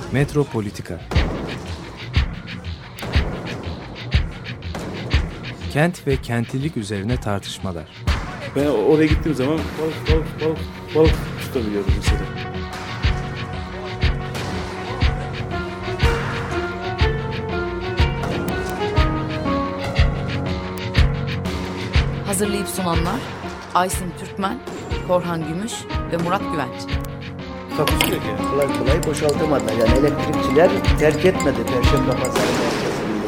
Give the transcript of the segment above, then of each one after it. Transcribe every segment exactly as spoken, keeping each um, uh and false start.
Metropolitika. Kent ve kentlilik üzerine tartışmalar. Ben oraya gittiğim zaman balık balık balık balık tutabiliyordum mesela. Hazırlayıp sunanlar Aysin Türkmen, Korhan Gümüş ve Murat Güvenç. Takusuyor ki. Kolay kolay boşaltamadılar. Yani elektrikçiler terk etmedi Perşembe Pazarı merkezini.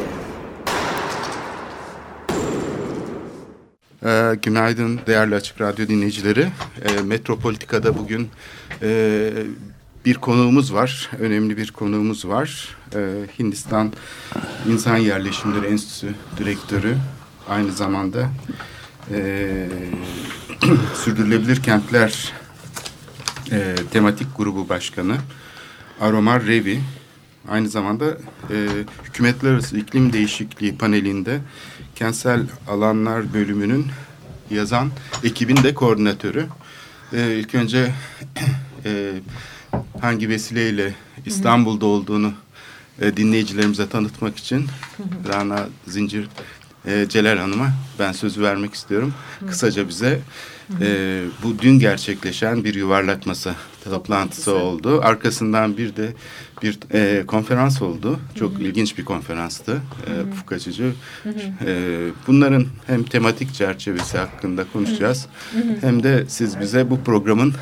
Ee, günaydın değerli Açık Radyo dinleyicileri. Ee, Metropolitika'da bugün e, bir konuğumuz var. Önemli bir konuğumuz var. Ee, Hindistan İnsan Yerleşimleri Enstitüsü Direktörü. Aynı zamanda e, Sürdürülebilir Kentler e, Tematik Grubu Başkanı Aromar Revi. Aynı zamanda e, Hükümetler Arası İklim Değişikliği panelinde Kentsel Alanlar bölümünün yazan ekibin de koordinatörü. E, ilk önce e, hangi vesileyle İstanbul'da olduğunu e, dinleyicilerimize tanıtmak için Rana Zincir e, Celal Hanım'a ben sözü vermek istiyorum. Kısaca bize e, bu dün gerçekleşen bir yuvarlak masa toplantısı oldu. Arkasından bir de bir e, konferans oldu. Çok Hı-hı. ilginç bir konferanstı. E, ufuk açıcı. E, bunların hem tematik çerçevesi hakkında konuşacağız. Hı-hı. Hem de siz bize bu programın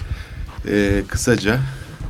e, kısaca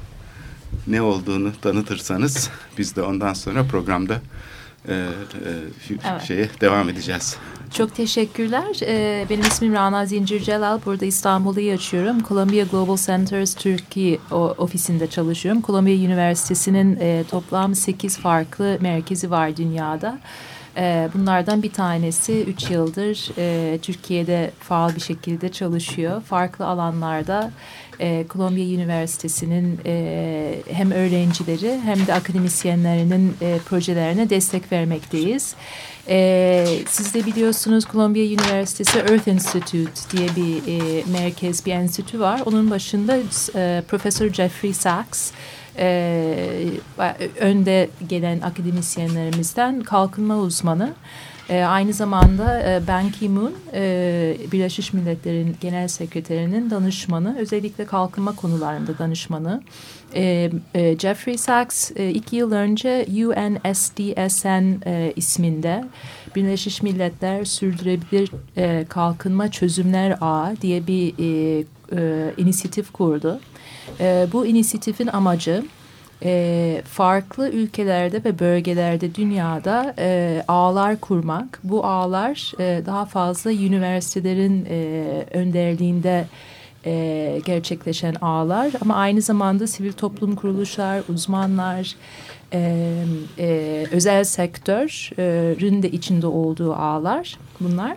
ne olduğunu tanıtırsanız biz de ondan sonra programda e, e, evet. şeye devam edeceğiz. Çok teşekkürler. Ee, benim ismim Rana Zincir Celal. Burada İstanbul'da yaşıyorum. Columbia Global Centers Türkiye ofisinde çalışıyorum. Columbia Üniversitesi'nin e, toplam sekiz farklı merkezi var dünyada. E, bunlardan bir tanesi üç yıldır e, Türkiye'de faal bir şekilde çalışıyor. Farklı alanlarda e, Columbia Üniversitesi'nin e, hem öğrencileri hem de akademisyenlerinin e, projelerine destek vermekteyiz. Ee, siz de biliyorsunuz Columbia Üniversitesi Earth Institute diye bir e, merkez, bir enstitü var. Onun başında e, Profesör Jeffrey Sachs, e, önde gelen akademisyenlerimizden kalkınma uzmanı. E, aynı zamanda e, Ban Ki-moon, e, Birleşmiş Milletler'in Genel Sekreterinin danışmanı, özellikle kalkınma konularında danışmanı. E, e, Jeffrey Sachs e, iki yıl önce U N S D S N e, isminde Birleşmiş Milletler Sürdürülebilir e, Kalkınma Çözümler Ağı diye bir e, e, inisiyatif kurdu. E, bu inisiyatifin amacı E, farklı ülkelerde ve bölgelerde dünyada e, ağlar kurmak. Bu ağlar e, daha fazla üniversitelerin e, önderliğinde e, gerçekleşen ağlar ama aynı zamanda sivil toplum kuruluşlar, uzmanlar, e, e, özel sektörün de içinde olduğu ağlar bunlar.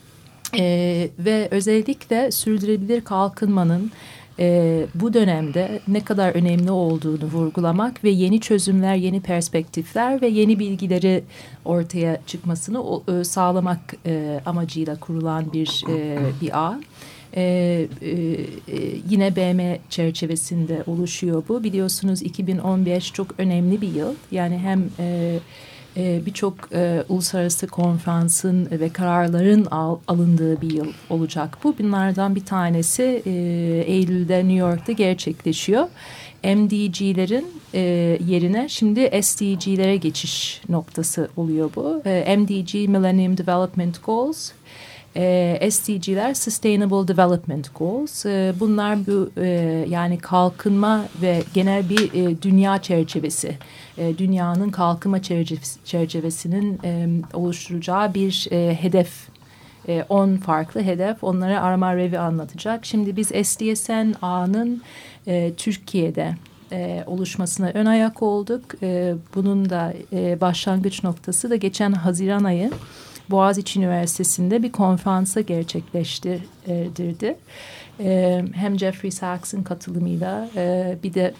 E, ve özellikle sürdürülebilir kalkınmanın Ee, bu dönemde ne kadar önemli olduğunu vurgulamak ve yeni çözümler, yeni perspektifler ve yeni bilgileri ortaya çıkmasını o, e, sağlamak e, amacıyla kurulan bir e, bir ağ. E, e, yine B M çerçevesinde oluşuyor bu. Biliyorsunuz iki bin on beş çok önemli bir yıl. Yani hem e, Ee, birçok e, uluslararası konferansın ve kararların al, alındığı bir yıl olacak bu. Bunlardan bir tanesi e, Eylül'de New York'ta gerçekleşiyor. M D G'lerin e, yerine şimdi S D G'lere geçiş noktası oluyor bu. E, M D G Millennium Development Goals. E, S D G'ler Sustainable Development Goals. E, bunlar bu e, yani kalkınma ve genel bir e, dünya çerçevesi. E, dünyanın kalkınma çerçevesi, çerçevesinin e, oluşturacağı bir e, hedef. on farklı hedef. Onları Aromar Revi anlatacak. Şimdi biz S D S N ağının e, Türkiye'de e, oluşmasına ön ayak olduk. E, bunun da e, başlangıç noktası da geçen Haziran ayı Boğaziçi Üniversitesi'nde bir konferansa gerçekleştirdi. E, hem Jeffrey Sachs'ın katılımıyla e, bir de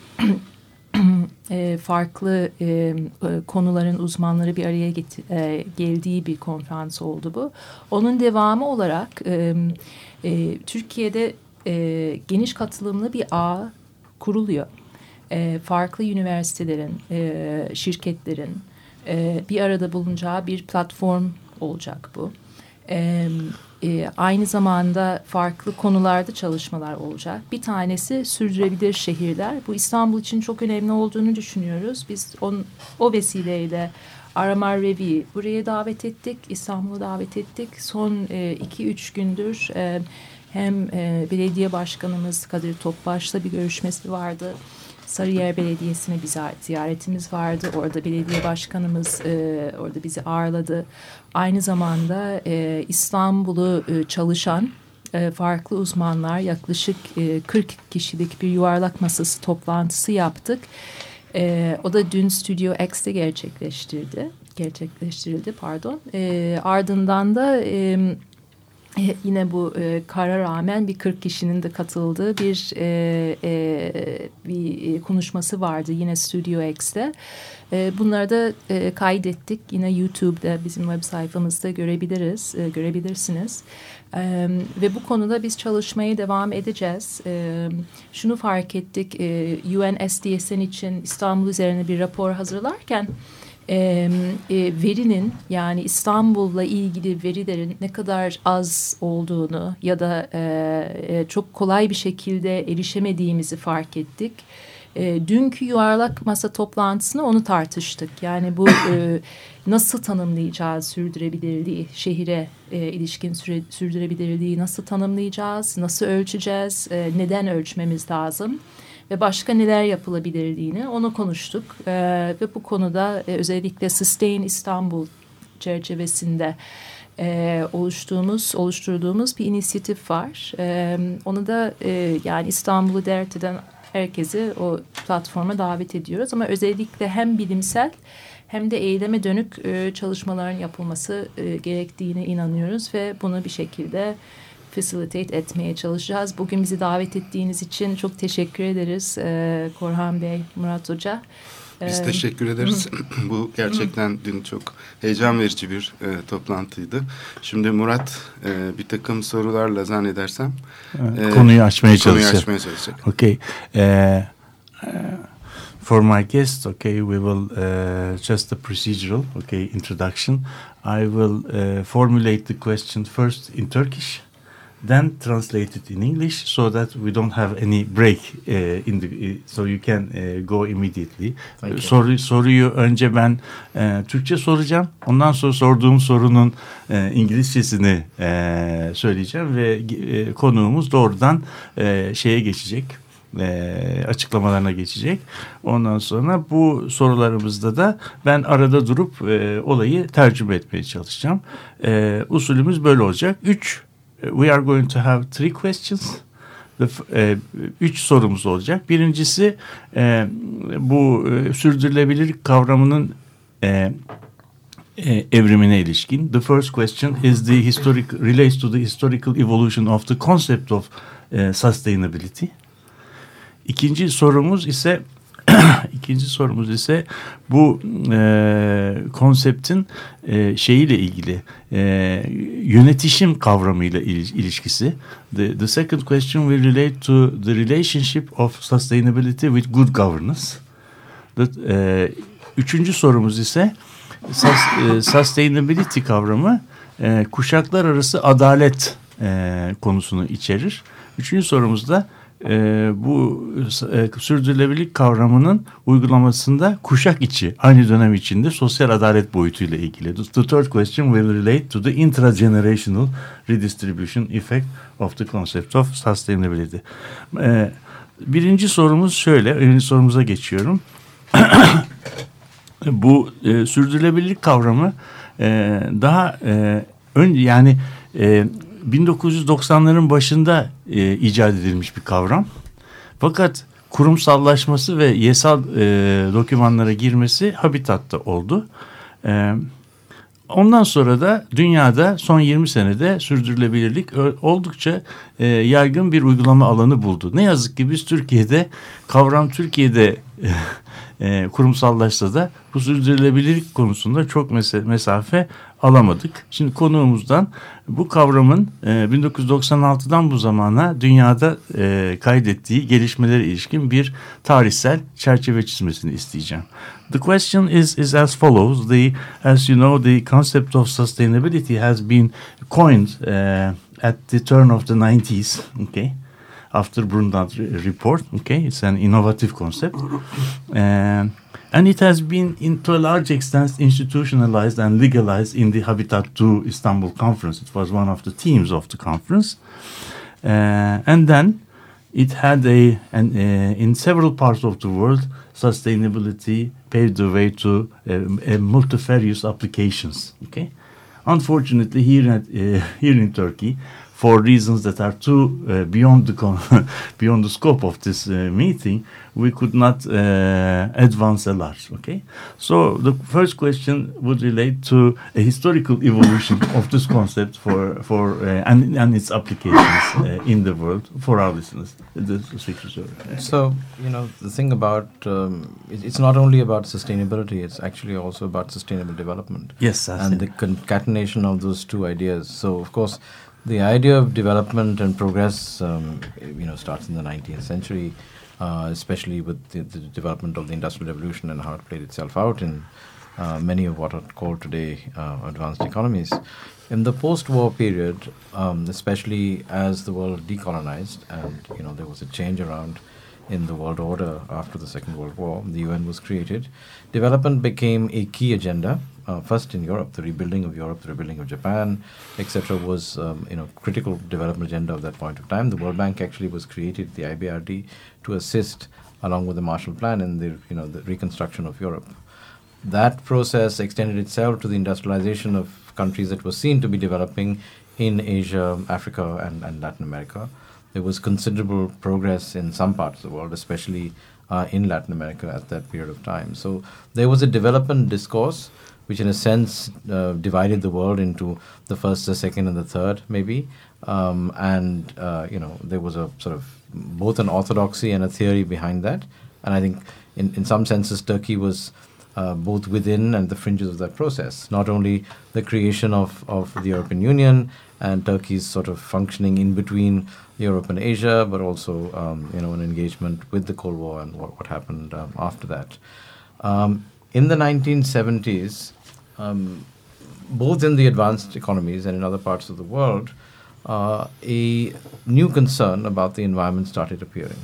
e, farklı e, konuların uzmanları bir araya get- e, geldiği bir konferans oldu bu. Onun devamı olarak e, e, Türkiye'de e, geniş katılımlı bir ağ kuruluyor. e, farklı üniversitelerin, e, şirketlerin e, bir arada bulunacağı bir platform olacak bu. E, e, aynı zamanda farklı konularda çalışmalar olacak. Bir tanesi sürdürülebilir şehirler. Bu İstanbul için çok önemli olduğunu düşünüyoruz. Biz on, o vesileyle Aramar Revi'yi buraya davet ettik, İstanbul'a davet ettik. Son e, iki üç gündür e, hem e, belediye başkanımız Kadir Topbaş'la bir görüşmesi vardı. Sarıyer Belediyesi'ne bir ziyaretimiz vardı. Orada belediye başkanımız e, orada bizi ağırladı. Aynı zamanda e, İstanbul'u e, çalışan e, farklı uzmanlar yaklaşık e, kırk kişilik bir yuvarlak masası toplantısı yaptık. E, o da dün Studio X'te gerçekleştirdi. Gerçekleştirildi pardon. E, ardından da e, e, yine bu e, kara rağmen bir kırk kişinin de katıldığı bir e, e, bir konuşması vardı yine Studio X'te. E, bunları da e, kaydettik. Yine YouTube'da bizim web sayfamızda görebiliriz, e, görebilirsiniz. E, ve bu konuda biz çalışmaya devam edeceğiz. E, şunu fark ettik, e, U N S D S N için İstanbul üzerine bir rapor hazırlarken e, e, verinin yani İstanbul'la ilgili verilerin ne kadar az olduğunu ya da e, e, çok kolay bir şekilde erişemediğimizi fark ettik. E, dünkü yuvarlak masa toplantısında onu tartıştık. Yani bu e, nasıl tanımlayacağız sürdürülebilirliği, şehire e, ilişkin süre, sürdürülebilirliği nasıl tanımlayacağız, nasıl ölçeceğiz, e, neden ölçmemiz lazım ve başka neler yapılabilirliğini onu konuştuk. E, ve bu konuda e, özellikle Sustain İstanbul çerçevesinde e, oluştuğumuz, oluşturduğumuz bir inisiyatif var. E, onu da e, yani İstanbul'u dert eden herkesi o platforma davet ediyoruz ama özellikle hem bilimsel hem de eyleme dönük e, çalışmaların yapılması e, gerektiğine inanıyoruz ve bunu bir şekilde facilitate etmeye çalışacağız. Bugün bizi davet ettiğiniz için çok teşekkür ederiz e, Korhan Bey, Murat Hoca. Biz teşekkür ederiz. Bu gerçekten dün çok heyecan verici bir e, toplantıydı. Şimdi Murat e, bir takım sorularla zannedersem e, konuyu açmaya konuyu çalışacak. açmaya çalışacak. Okay. Uh, uh, for my guest, okay, we will uh, just a procedural, okay, introduction. I will uh, formulate the question first in Turkish, then translate it in English so that we don't have any break uh, in the uh, so you can uh, go immediately. Soru soruyu önce ben uh, Türkçe soracağım. Ondan sonra sorduğum sorunun uh, İngilizcesini uh, söyleyeceğim ve uh, konuğumuz doğrudan uh, şeye geçecek. E, açıklamalarına geçecek. Ondan sonra bu sorularımızda da ben arada durup e, olayı tercüme etmeye çalışacağım. E, usulümüz böyle olacak. Üç, we are going to have three questions. The, e, üç sorumuz olacak. Birincisi e, bu e, sürdürülebilirlik kavramının e, e, evrimine ilişkin. The first question is the historic relates to the historical evolution of the concept of e, sustainability. İkinci sorumuz ise ikinci sorumuz ise bu e, konseptin e, şeyiyle ilgili e, yönetişim kavramıyla ilişkisi. The, the second question will relate to the relationship of sustainability with good governance. The, e, üçüncü sorumuz ise sus, e, sustainability kavramı e, kuşaklar arası adalet e, konusunu içerir. Üçüncü sorumuz da Ee, bu e, sürdürülebilirlik kavramının uygulamasında kuşak içi, aynı dönem içinde sosyal adalet boyutuyla ilgili. The third question will relate to the intragenerational redistribution effect of the concept of sustainability. Ee, birinci sorumuz şöyle, birinci sorumuza geçiyorum. Bu e, sürdürülebilirlik kavramı e, daha e, önce yani e, bin dokuz yüz doksanların başında e, icat edilmiş bir kavram. Fakat kurumsallaşması ve yasal e, dokümanlara girmesi Habitat'ta oldu. E, ondan sonra da dünyada son yirmi senede sürdürülebilirlik oldukça e, yaygın bir uygulama alanı buldu. Ne yazık ki biz Türkiye'de kavram Türkiye'de e, kurumsallaşsa da bu sürdürülebilirlik konusunda çok mes- mesafe alamadık. Şimdi konuğumuzdan bu kavramın e, bin dokuz yüz doksan altıdan bu zamana dünyada e, kaydettiği gelişmelere ilişkin bir tarihsel çerçeve çizmesini isteyeceğim. The question is is as follows. The as you know, the concept of sustainability has been coined uh, at the turn of the nineties. Okay. After Brundtland report, okay, it's an innovative concept, um, and it has been, in, to a large extent, institutionalized and legalized in the Habitat two Istanbul conference. It was one of the themes of the conference, uh, and then it had a, an, uh, in several parts of the world, sustainability paved the way to uh, multifarious applications. Okay, unfortunately, here at, uh, here in Turkey, for reasons that are too uh, beyond the con- beyond the scope of this uh, meeting, we could not uh, advance a lot. Okay, so the first question would relate to a historical evolution of this concept for for uh, and and its applications uh, in the world for our listeners. The secretary. So you know the thing about um, it, it's not only about sustainability; it's actually also about sustainable development. Yes, that's and it. the concatenation of those two ideas. So of course, the idea of development and progress, um, you know, starts in the nineteenth century, uh, especially with the, the development of the Industrial Revolution and how it played itself out in uh, many of what are called today uh, advanced economies. In the post-war period, um, especially as the world decolonized and, you know, there was a change around in the world order after the Second World War, the U N was created. Development became a key agenda. Uh, first in Europe, the rebuilding of Europe, the rebuilding of Japan, et cetera, was um, you know critical development agenda of that point of time. The World Bank actually was created, the I B R D, to assist along with the Marshall Plan in the you know the reconstruction of Europe. That process extended itself to the industrialization of countries that were seen to be developing in Asia, Africa, and, and Latin America. There was considerable progress in some parts of the world, especially uh, in Latin America at that period of time. So there was a development discourse which in a sense uh, divided the world into the first, the second, and the third, maybe. Um, and, uh, you know, there was a sort of both an orthodoxy and a theory behind that. And I think in, in some senses, Turkey was uh, both within and the fringes of that process. Not only the creation of, of the European Union and Turkey's sort of functioning in between Europe and Asia, but also, um, you know, an engagement with the Cold War and what, what happened um, after that. Um, in the nineteen seventies, Um, both in the advanced economies and in other parts of the world, uh, a new concern about the environment started appearing.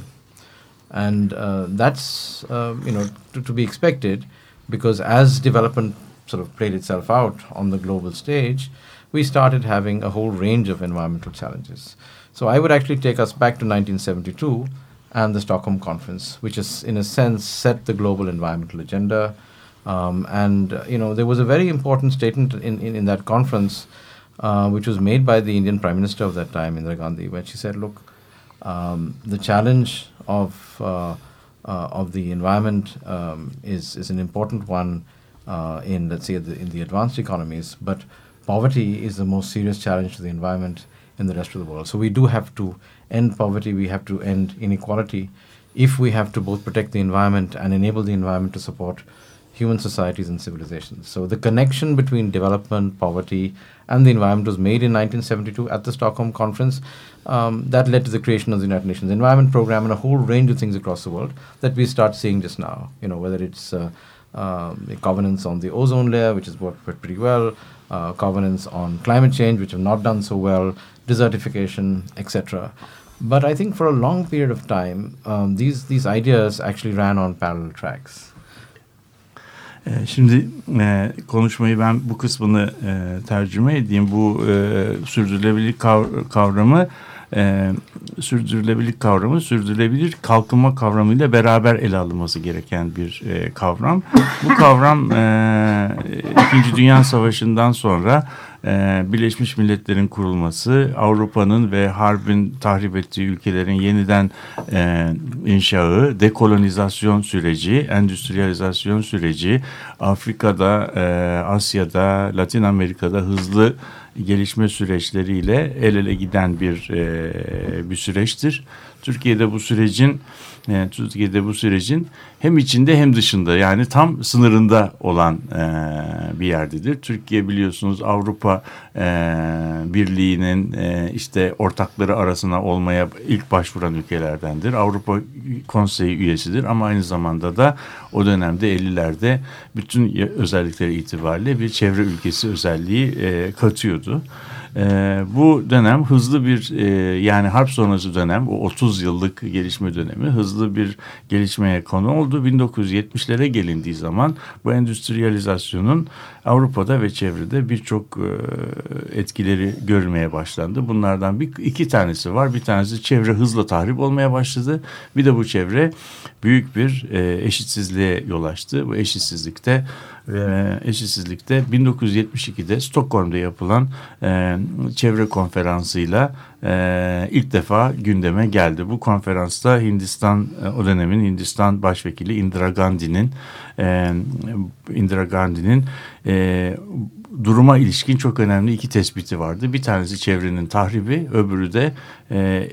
And uh, that's, uh, you know, to, to be expected, because as development sort of played itself out on the global stage, we started having a whole range of environmental challenges. So I would actually take us back to nineteen seventy-two and the Stockholm Conference, which is, in a sense, set the global environmental agenda. Um, and, uh, you know, there was a very important statement in, in, in that conference, uh, which was made by the Indian Prime Minister of that time, Indira Gandhi, where she said, look, um, the challenge of uh, uh, of the environment um, is, is an important one uh, in, let's say, the, in the advanced economies, but poverty is the most serious challenge to the environment in the rest of the world. So we do have to end poverty, we have to end inequality, if we have to both protect the environment and enable the environment to support human societies and civilizations. So the connection between development, poverty, and the environment was made in nineteen seventy-two at the Stockholm Conference. Um, that led to the creation of the United Nations Environment Programme and a whole range of things across the world that we start seeing just now. You know, whether it's uh, um, the covenants on the ozone layer, which has worked pretty well, uh, covenants on climate change, which have not done so well, desertification, et cetera. But I think for a long period of time, um, these these ideas actually ran on parallel tracks. Şimdi e, konuşmayı ben bu kısmını e, tercüme edeyim. Bu e, sürdürülebilirlik kav- kavramı e, sürdürülebilirlik kavramı sürdürülebilir kalkınma kavramıyla beraber ele alınması gereken bir e, kavram. Bu kavram e, İkinci Dünya Savaşı'ndan sonra e, Birleşmiş Milletler'in kurulması, Avrupa'nın ve harbin tahrip ettiği ülkelerin yeniden e, inşağı, dekolonizasyon süreci, endüstriyalizasyon süreci, Afrika'da, e, Asya'da, Latin Amerika'da hızlı gelişme süreçleriyle el ele giden bir e, bir süreçtir. Türkiye'de bu sürecin e, Türkiye'de bu sürecin hem içinde hem dışında, yani tam sınırında olan e, bir yerdedir. Türkiye biliyorsunuz Avrupa e, Birliği'nin e, işte ortakları arasına olmaya ilk başvuran ülkelerdendir. Avrupa Konseyi üyesidir ama aynı zamanda da o dönemde ellilerde bütün özellikleri itibariyle bir çevre ülkesi özelliği e, katıyordu. Ee, bu dönem hızlı bir e, yani harp sonrası dönem, o otuz yıllık gelişme dönemi hızlı bir gelişmeye konu oldu. bin dokuz yüz yetmişlere gelindiği zaman bu endüstriyalizasyonun Avrupa'da ve çevrede birçok e, etkileri görülmeye başlandı. Bunlardan bir iki tanesi var. Bir tanesi çevre hızla tahrip olmaya başladı. Bir de bu çevre büyük bir e, eşitsizliğe yol açtı. Bu eşitsizlikte ve eşitsizlikte bin dokuz yüz yetmiş ikide Stockholm'da yapılan e, çevre konferansıyla e, ilk defa gündeme geldi. Bu konferansta Hindistan, o dönemin Hindistan Başvekili Indira Gandhi'nin e, Indira Gandhi'nin e, duruma ilişkin çok önemli iki tespiti vardı. Bir tanesi çevrenin tahribi, öbürü de e, e,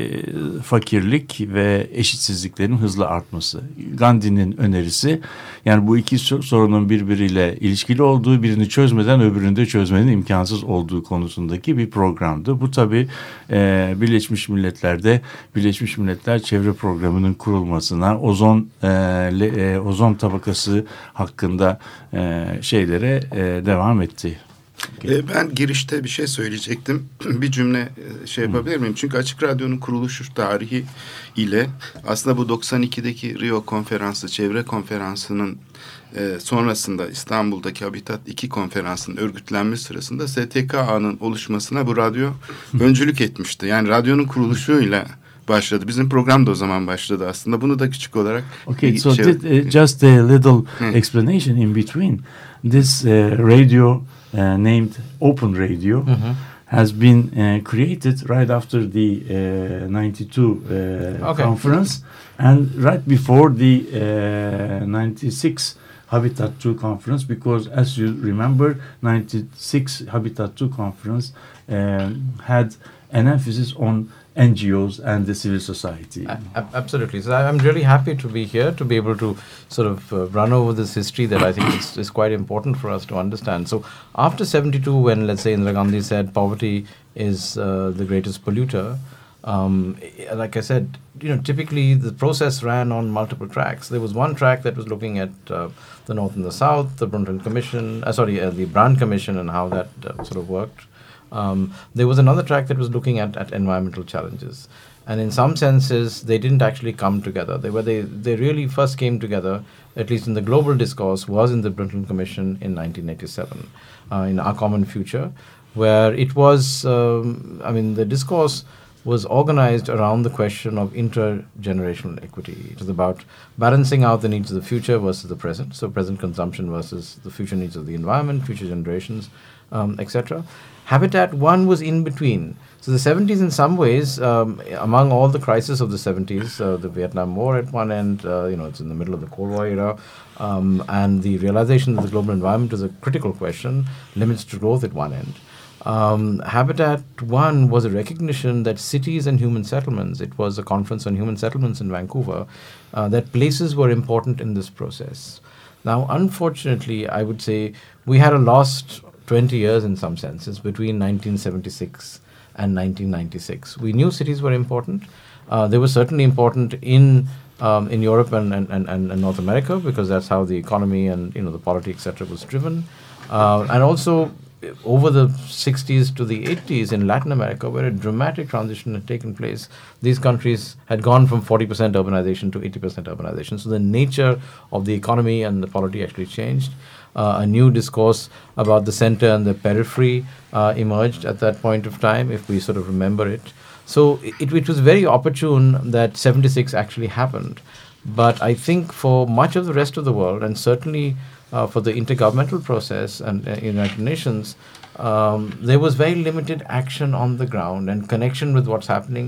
fakirlik ve eşitsizliklerin hızla artması. Gandhi'nin önerisi, yani bu iki sorunun birbiriyle ilişkili olduğu, birini çözmeden öbürünü de çözmenin imkansız olduğu konusundaki bir programdı. Bu tabii e, Birleşmiş Milletler'de Birleşmiş Milletler Çevre Programı'nın kurulmasına, ozon e, le, e, ozon tabakası hakkında e, şeylere e, devam etti. Okay. Ben girişte bir şey söyleyecektim. Bir cümle şey yapabilir miyim? Çünkü Açık Radyo'nun kuruluşu tarihi ile aslında bu doksan ikideki Rio Konferansı, Çevre Konferansı'nın e, sonrasında İstanbul'daki Habitat iki konferansının örgütlenme sırasında S T K A'nın oluşmasına bu radyo öncülük etmişti. Yani radyonun kuruluşuyla başladı. Bizim program da o zaman başladı aslında. Bunu da küçük olarak... Okay, so şey, did, uh, just a little explanation in between. This uh, radio uh, named Open Radio mm-hmm. has been uh, created right after the uh, ninety-two uh, okay. conference and right before the uh, ninety-six Habitat two conference, because as you remember, ninety-six Habitat two conference um, had an emphasis on N G Os and the civil society. A- absolutely. So I'm really happy to be here to be able to sort of uh, run over this history that I think is, is quite important for us to understand. So after seventy-two, when let's say Indira Gandhi said poverty is uh, the greatest polluter, um, like I said, you know, typically the process ran on multiple tracks. There was one track that was looking at uh, the North and the South, the Brundtland Commission, uh, sorry, uh, the Brand Commission and how that uh, sort of worked. Um, there was another track that was looking at, at environmental challenges. And in some senses, they didn't actually come together. They were they, they really first came together, at least in the global discourse, was in the Brundtland Commission in nineteen eighty-seven, uh, in Our Common Future, where it was, um, I mean, the discourse was organized around the question of intergenerational equity. It was about balancing out the needs of the future versus the present, so present consumption versus the future needs of the environment, future generations, um, et cetera. Habitat one was in between. So the seventies in some ways, um, among all the crises of the seventies, uh, the Vietnam War at one end, uh, you know, it's in the middle of the Cold War era, um, and the realization that the global environment is a critical question, limits to growth at one end. Um, Habitat one was a recognition that cities and human settlements, it was a conference on human settlements in Vancouver, uh, that places were important in this process. Now, unfortunately, I would say we had a lost twenty years in some senses between nineteen seventy-six and nineteen ninety-six. We knew cities were important. Uh, they were certainly important in um, in Europe and, and, and, and North America, because that's how the economy and, you know, the polity, et cetera, was driven. Uh, and also over the sixties to the eighties in Latin America, where a dramatic transition had taken place. These countries had gone from forty percent urbanization to eighty percent urbanization. So the nature of the economy and the polity actually changed. Uh, a new discourse about the center and the periphery uh, emerged at that point of time, if we sort of remember it. So it, it was very opportune that seventy-six actually happened. But I think for much of the rest of the world, and certainly uh, for the intergovernmental process and uh, United Nations, um, there was very limited action on the ground and connection with what's happening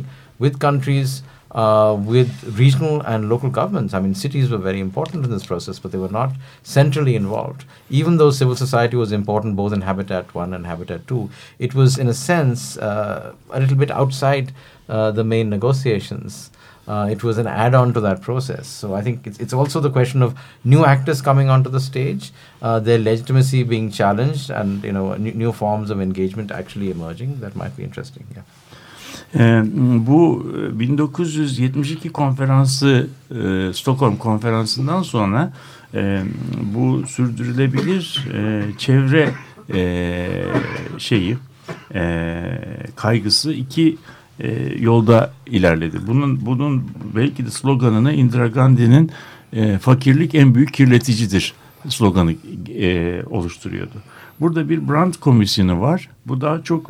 with countries, uh, with regional and local governments. I mean, cities were very important in this process, but they were not centrally involved. Even though civil society was important both in Habitat one and Habitat two, it was, in a sense, uh, a little bit outside uh, the main negotiations. Uh, it was an add-on to that process. So I think it's, it's also the question of new actors coming onto the stage, uh, their legitimacy being challenged, and you know new, new forms of engagement actually emerging. That might be interesting. Yeah. Ee, bu bin dokuz yüz yetmiş iki konferansı, e, Stockholm konferansından sonra e, bu sürdürülebilir e, çevre e, şeyi e, kaygısı iki e, yolda ilerledi. Bunun bunun belki de sloganını Indira Gandhi'nin e, fakirlik en büyük kirleticidir sloganı e, oluşturuyordu. Burada bir Brandt komisyonu var. Bu daha çok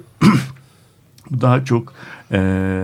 daha çok e,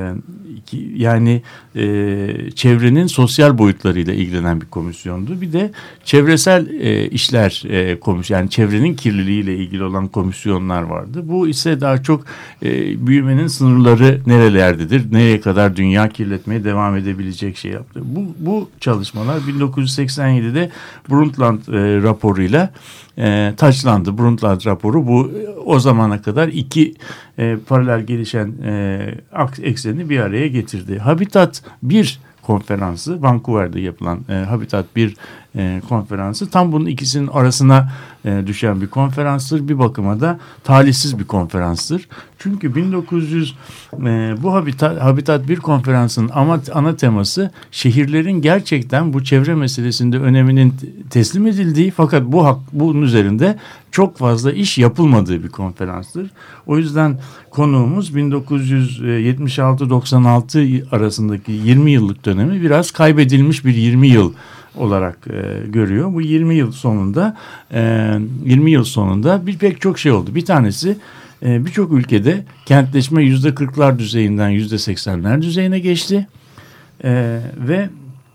yani e, çevrenin sosyal boyutlarıyla ilgilenen bir komisyondu. Bir de çevresel e, işler e, komisyon, yani çevrenin kirliliğiyle ilgili olan komisyonlar vardı. Bu ise daha çok e, büyümenin sınırları nerelerdedir, nereye kadar dünya kirletmeye devam edebilecek şey yaptı. Bu, bu çalışmalar bin dokuz yüz seksen yedide Brundtland e, raporuyla e, taçlandı. Brundtland raporu bu o zamana kadar iki e, paralel gelişen e, ekseni bir araya getirdi. Habitat bir konferansı, Vancouver'de yapılan e, Habitat bir e, konferansı tam bunun ikisinin arasına e, düşen bir konferanstır. Bir bakıma da talihsiz bir konferanstır. Çünkü bin dokuz yüz e, bu Habitat Habitat bir konferansının ama ana teması şehirlerin gerçekten bu çevre meselesinde öneminin teslim edildiği, fakat bu hak, bunun üzerinde çok fazla iş yapılmadığı bir konferanstır. O yüzden konuğumuz bin dokuz yüz yetmiş altı doksan altı arasındaki yirmi yıllık dönemi biraz kaybedilmiş bir yirmi yıl olarak e, görüyor. Bu yirmi yıl sonunda e, yirmi yıl sonunda bir pek çok şey oldu. Bir tanesi e, birçok ülkede kentleşme yüzde kırklar düzeyinden yüzde seksenler düzeyine geçti e, ve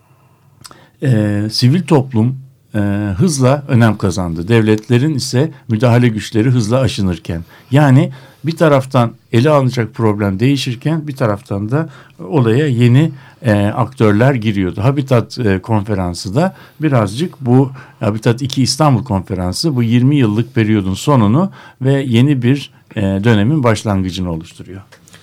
e, sivil toplum e, hızla önem kazandı. Devletlerin ise müdahale güçleri hızla aşınırken, yani bir taraftan ele alınacak problem değişirken bir taraftan da olaya yeni e, aktörler giriyordu. Habitat e, konferansı da birazcık bu Habitat iki İstanbul konferansı bu yirmi yıllık periyodun sonunu ve yeni bir e, dönemin başlangıcını oluşturuyor.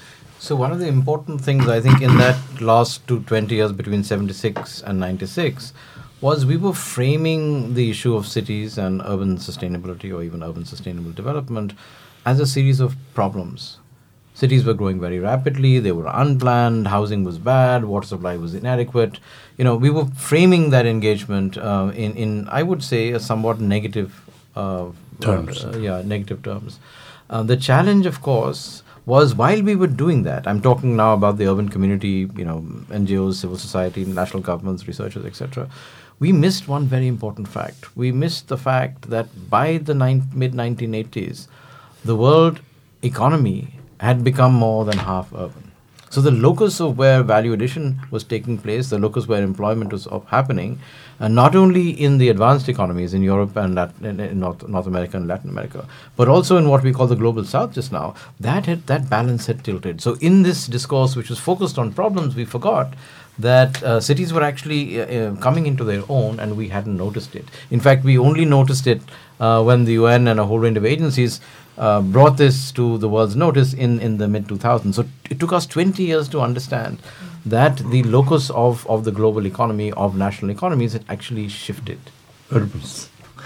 So one of the important things I think in that last two twenty years between seventy-six and ninety-six was we were framing the issue of cities and urban sustainability or even urban sustainable development as a series of problems. Cities were growing very rapidly, they were unplanned, housing was bad, water supply was inadequate. You know, we were framing that engagement uh, in, in, I would say, a somewhat negative uh, terms. Uh, yeah, negative terms. Uh, the challenge, of course, was while we were doing that, I'm talking now about the urban community, you know, N G Os, civil society, national governments, researchers, et cetera, we missed one very important fact. We missed the fact that by the mid nineteen eighties, the world economy had become more than half urban. So the locus of where value addition was taking place, the locus where employment was happening, and not only in the advanced economies in Europe and Latin, in North, North America and Latin America, but also in what we call the global south just now, that had, that balance had tilted. So in this discourse, which was focused on problems, we forgot that uh, cities were actually uh, uh, coming into their own, and we hadn't noticed it. In fact, we only noticed it uh, when the U N and a whole range of agencies uh, brought this to the world's notice in, in the mid two thousands. So it took us twenty years to understand that the locus of, of the global economy, of national economies, had actually shifted. Urbans.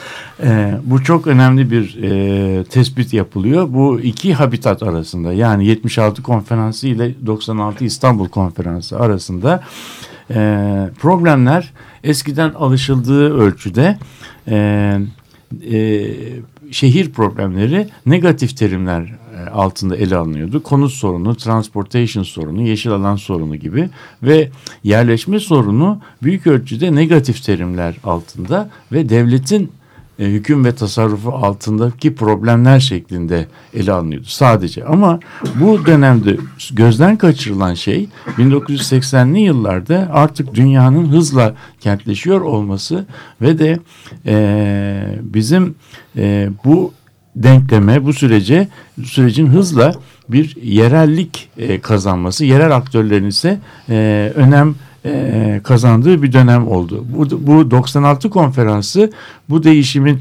Ee, bu çok önemli bir e, tespit yapılıyor. Bu iki habitat arasında, yani yetmiş altı konferansı ile doksan altı İstanbul konferansı arasında e, problemler eskiden alışıldığı ölçüde e, e, şehir problemleri negatif terimler altında ele alınıyordu. Konut sorunu, transportation sorunu, yeşil alan sorunu gibi ve yerleşme sorunu büyük ölçüde negatif terimler altında ve devletin e, hüküm ve tasarrufu altındaki problemler şeklinde ele alınıyordu sadece. Ama bu dönemde gözden kaçırılan şey bin dokuz yüz seksenli yıllarda artık dünyanın hızla kentleşiyor olması ve de e, bizim e, bu denkleme, bu sürece, sürecin hızla bir yerellik e, kazanması, yerel aktörlerin ise e, önem e, kazandığı bir dönem oldu. Bu, bu doksan altı konferansı bu değişimin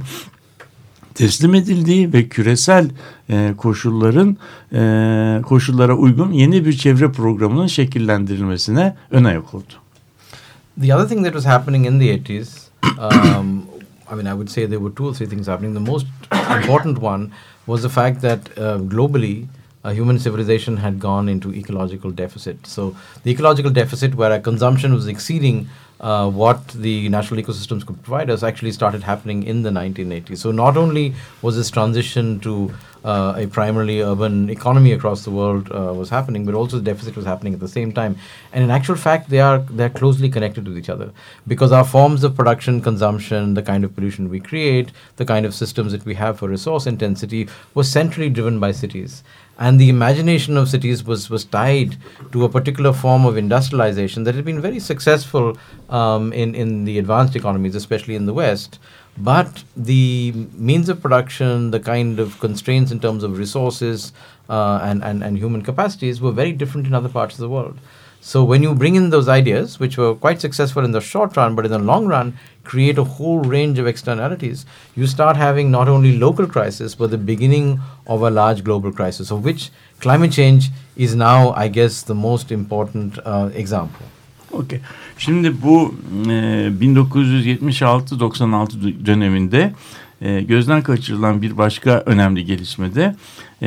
teslim edildiği ve küresel e, koşulların e, koşullara uygun yeni bir çevre programının şekillendirilmesine ön ayak oldu. The other thing that was happening in the eighties, um, I mean, I would say there were two or three things happening. The most important one was the fact that uh, globally, uh, human civilization had gone into ecological deficit. So the ecological deficit, where our consumption was exceeding uh, what the natural ecosystems could provide us, actually started happening in the nineteen eighties. So not only was this transition to uh, a primarily urban economy across the world uh, was happening, but also the deficit was happening at the same time. And in actual fact, they are they're closely connected with each other, because our forms of production, consumption, the kind of pollution we create, the kind of systems that we have for resource intensity was centrally driven by cities. And the imagination of cities was, was tied to a particular form of industrialization that had been very successful um, in, in the advanced economies, especially in the West. But the means of production, the kind of constraints in terms of resources uh, and, and, and human capacities were very different in other parts of the world. So when you bring in those ideas, which were quite successful in the short run, but in the long run, create a whole range of externalities, you start having not only local crisis, but the beginning of a large global crisis, of which climate change is now, I guess, the most important uh, example. Okay. Şimdi bu e, bin dokuz yüz yetmiş altı doksan altı döneminde e, gözden kaçırılan bir başka önemli gelişmede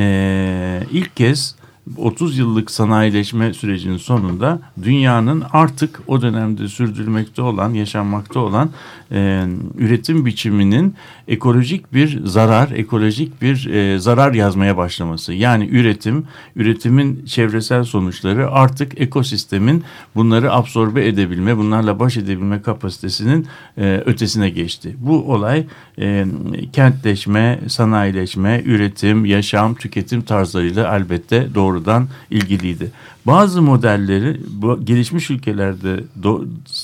e, ilk kez otuz yıllık sanayileşme sürecinin sonunda dünyanın artık o dönemde sürdürülmekte olan, yaşanmakta olan e, üretim biçiminin ekolojik bir zarar, ekolojik bir e, zarar yazmaya başlaması. Yani üretim, üretimin çevresel sonuçları artık ekosistemin bunları absorbe edebilme, bunlarla baş edebilme kapasitesinin e, ötesine geçti. Bu olay e, kentleşme, sanayileşme, üretim, yaşam, tüketim tarzlarıyla elbette doğru doğrudan ilgiliydi. Bazı modelleri bu gelişmiş ülkelerde do,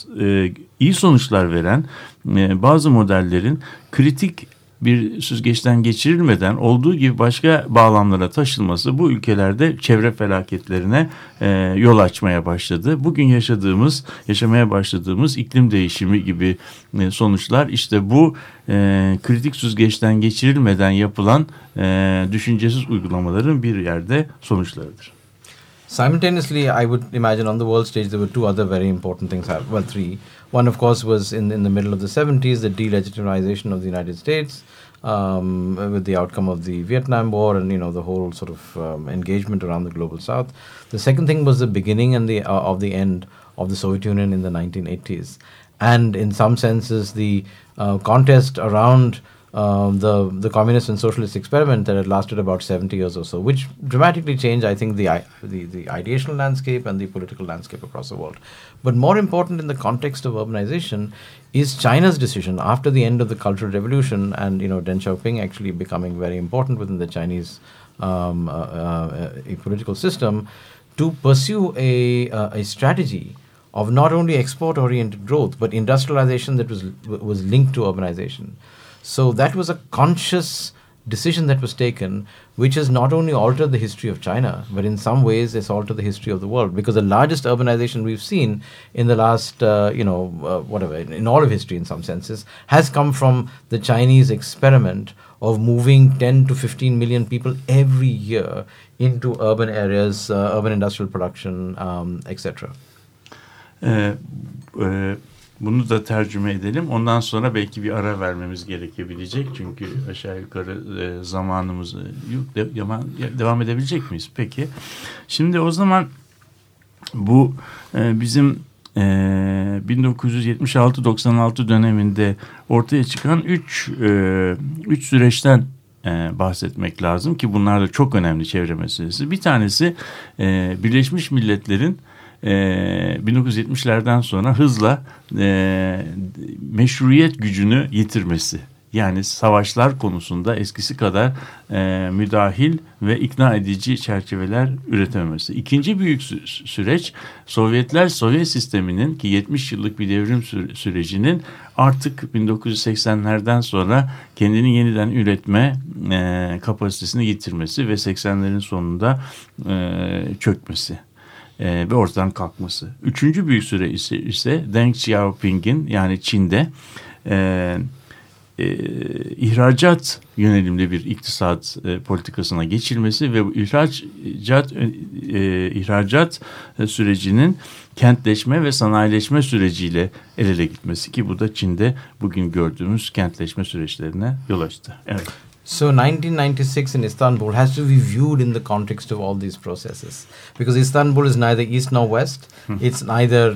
e, iyi sonuçlar veren e, bazı modellerin kritik bir süzgeçten geçirilmeden olduğu gibi başka bağlamlara taşınması bu ülkelerde çevre felaketlerine e, yol açmaya başladı. Bugün yaşadığımız, yaşamaya başladığımız iklim değişimi gibi e, sonuçlar işte bu e, kritik süzgeçten geçirilmeden yapılan e, düşüncesiz uygulamaların bir yerde sonuçlarıdır. Simultaneously, I would imagine on the world stage there were two other very important things. Well, three. One, of course, was in in the middle of the seventies, the delegitimization of the United States, um, with the outcome of the Vietnam War and you know the whole sort of um, engagement around the global South. The second thing was the beginning and the uh, of the end of the Soviet Union in the nineteen eighties, and in some senses the uh, contest around Um, the the communist and socialist experiment that had lasted about seventy years or so, which dramatically changed, I think, the, the the ideational landscape and the political landscape across the world. But more important in the context of urbanization is China's decision after the end of the Cultural Revolution and you know Deng Xiaoping actually becoming very important within the Chinese um, uh, uh, political system to pursue a uh, a strategy of not only export-oriented growth but industrialization that was was linked to urbanization. So that was a conscious decision that was taken, which has not only altered the history of China, but in some ways it's altered the history of the world. Because the largest urbanization we've seen in the last, uh, you know, uh, whatever, in, in all of history in some senses, has come from the Chinese experiment of moving ten to fifteen million people every year into urban areas, uh, urban industrial production, um, et cetera. Ee, e Bunu da tercüme edelim. Ondan sonra belki bir ara vermemiz gerekebilecek. Çünkü aşağı yukarı e, zamanımız yok. De, devam edebilecek miyiz? Peki. Şimdi o zaman bu e, bizim e, bin dokuz yüz yetmiş altı doksan altı döneminde ortaya çıkan üç, e, üç süreçten e, bahsetmek lazım ki bunlar da çok önemli çevre meselesi. Bir tanesi e, Birleşmiş Milletler'in Ee, bin dokuz yüz yetmişlerden sonra hızla e, meşruiyet gücünü yitirmesi. Yani savaşlar konusunda eskisi kadar e, müdahil ve ikna edici çerçeveler üretememesi. İkinci büyük sü- süreç Sovyetler Sovyet sisteminin ki yetmiş yıllık bir devrim sü- sürecinin artık bin dokuz yüz seksenlerden sonra kendini yeniden üretme e, kapasitesini yitirmesi ve seksenlerin sonunda e, çökmesi. E, ve ortadan kalkması. Üçüncü büyük süre ise, ise Deng Xiaoping'in yani Çin'de e, e, ihracat yönelimli bir iktisat e, politikasına geçilmesi ve bu ihracat e, ihracat sürecinin kentleşme ve sanayileşme süreciyle el ele gitmesi ki bu da Çin'de bugün gördüğümüz kentleşme süreçlerine yol açtı. Evet. So nineteen ninety-six in Istanbul has to be viewed in the context of all these processes, because Istanbul is neither East nor West. Hmm. It's neither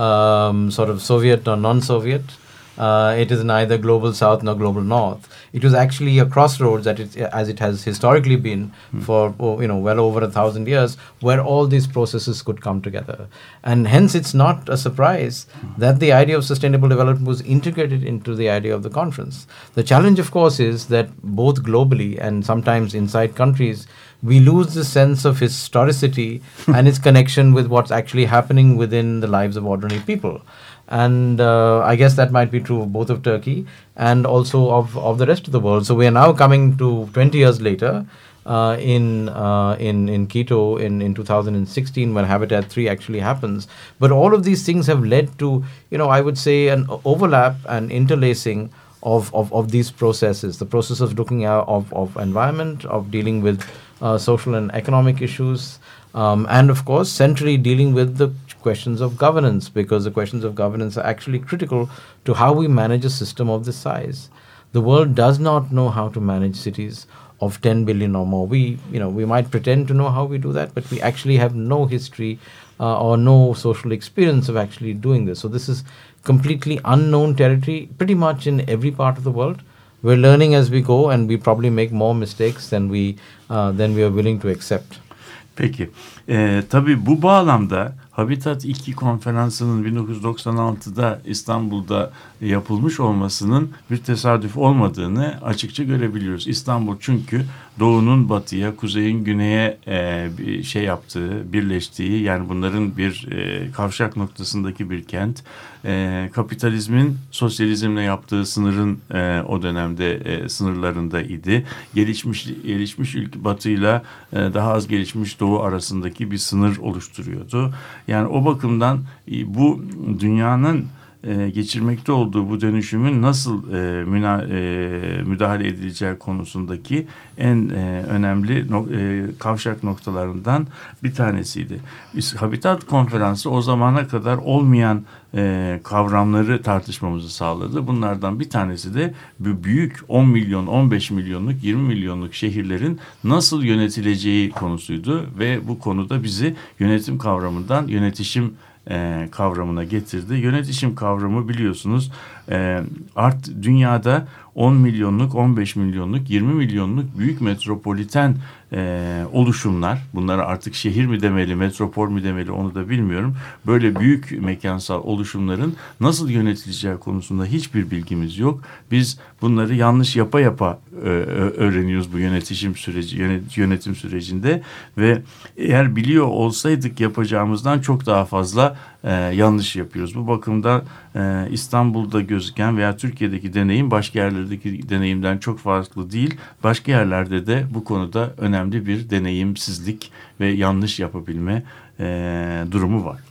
um, sort of Soviet nor non-Soviet. Uh, it is neither global South nor global North. It was actually a crossroads, that it, as it has historically been hmm. for oh, you know well over a thousand years, where all these processes could come together. And hence it's not a surprise hmm. that the idea of sustainable development was integrated into the idea of the conference. The challenge, of course, is that both globally and sometimes inside countries, we lose the sense of historicity and its connection with what's actually happening within the lives of ordinary people. And uh, I guess that might be true of both of Turkey and also of, of the rest of the world. So we are now coming to twenty years later uh, in, uh, in in Quito in, in two thousand sixteen when Habitat three actually happens. But all of these things have led to, you know, I would say an overlap and interlacing of, of, of these processes. The process of looking at of, of environment, of dealing with uh, social and economic issues, um, and of course centrally dealing with the questions of governance, because the questions of governance are actually critical to how we manage a system of this size. The world does not know how to manage cities of ten billion or more. We, you know, we might pretend to know how we do that, but we actually have no history uh, or no social experience of actually doing this. So this is completely unknown territory pretty much in every part of the world. We're learning as we go, and we probably make more mistakes than we uh, than we are willing to accept. Peki. Ee, tabii bu bağlamda Habitat iki konferansının bin dokuz yüz doksan altıda İstanbul'da yapılmış olmasının bir tesadüf olmadığını açıkça görebiliyoruz. İstanbul çünkü doğunun batıya, kuzeyin güneye e, bir şey yaptığı, birleştiği, yani bunların bir e, kavşak noktasındaki bir kent. E, kapitalizmin sosyalizmle yaptığı sınırın e, o dönemde e, sınırlarında idi. Gelişmiş gelişmiş ülke batıyla e, daha az gelişmiş doğu arasındaki bir sınır oluşturuyordu. Yani o bakımdan e, bu dünyanın e, geçirmekte olduğu bu dönüşümün nasıl e, müna, e, müdahale edileceği konusundaki en e, önemli no, e, kavşak noktalarından bir tanesiydi. Biz, Habitat Konferansı o zamana kadar olmayan e, kavramları tartışmamızı sağladı. Bunlardan bir tanesi de bu büyük on milyon, on beş milyonluk, yirmi milyonluk şehirlerin nasıl yönetileceği konusuydu ve bu konuda bizi yönetim kavramından yönetişim E, kavramına getirdi. Yönetişim kavramı biliyorsunuz e, art dünyada on milyonluk, on beş milyonluk, yirmi milyonluk büyük metropoliten e, oluşumlar, bunlara artık şehir mi demeli, metropol mü demeli onu da bilmiyorum. Böyle büyük mekansal oluşumların nasıl yönetileceği konusunda hiçbir bilgimiz yok. Biz bunları yanlış yapa yapa e, öğreniyoruz bu yönetişim süreci, yönet, yönetim sürecinde ve eğer biliyor olsaydık yapacağımızdan çok daha fazla e, yanlış yapıyoruz. Bu bakımda e, İstanbul'da gözüken veya Türkiye'deki deneyim başka yerlerdeki deneyimden çok farklı değil. Başka yerlerde de bu konuda önemli bir deneyimsizlik ve yanlış yapabilme e, durumu var.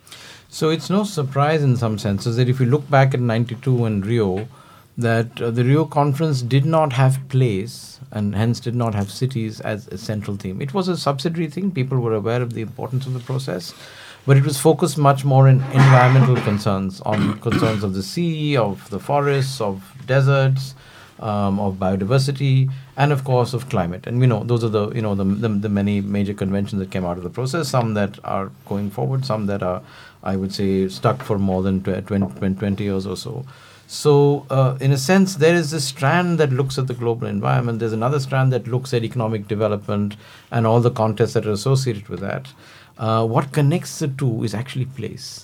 So it's no surprise in some senses that if you look back at ninety-two and Rio, that uh, the Rio conference did not have place and hence did not have cities as a central theme. It was a subsidiary thing. People were aware of the importance of the process, but it was focused much more in environmental concerns, on concerns of the sea, of the forests, of deserts, um, of biodiversity, and of course of climate. And we know those are the you know the, the the many major conventions that came out of the process. Some that are going forward, some that are, I would say, stuck for more than twenty, twenty years or so. So, uh, in a sense, there is this strand that looks at the global environment. There's another strand that looks at economic development and all the contexts that are associated with that. Uh, what connects the two is actually place.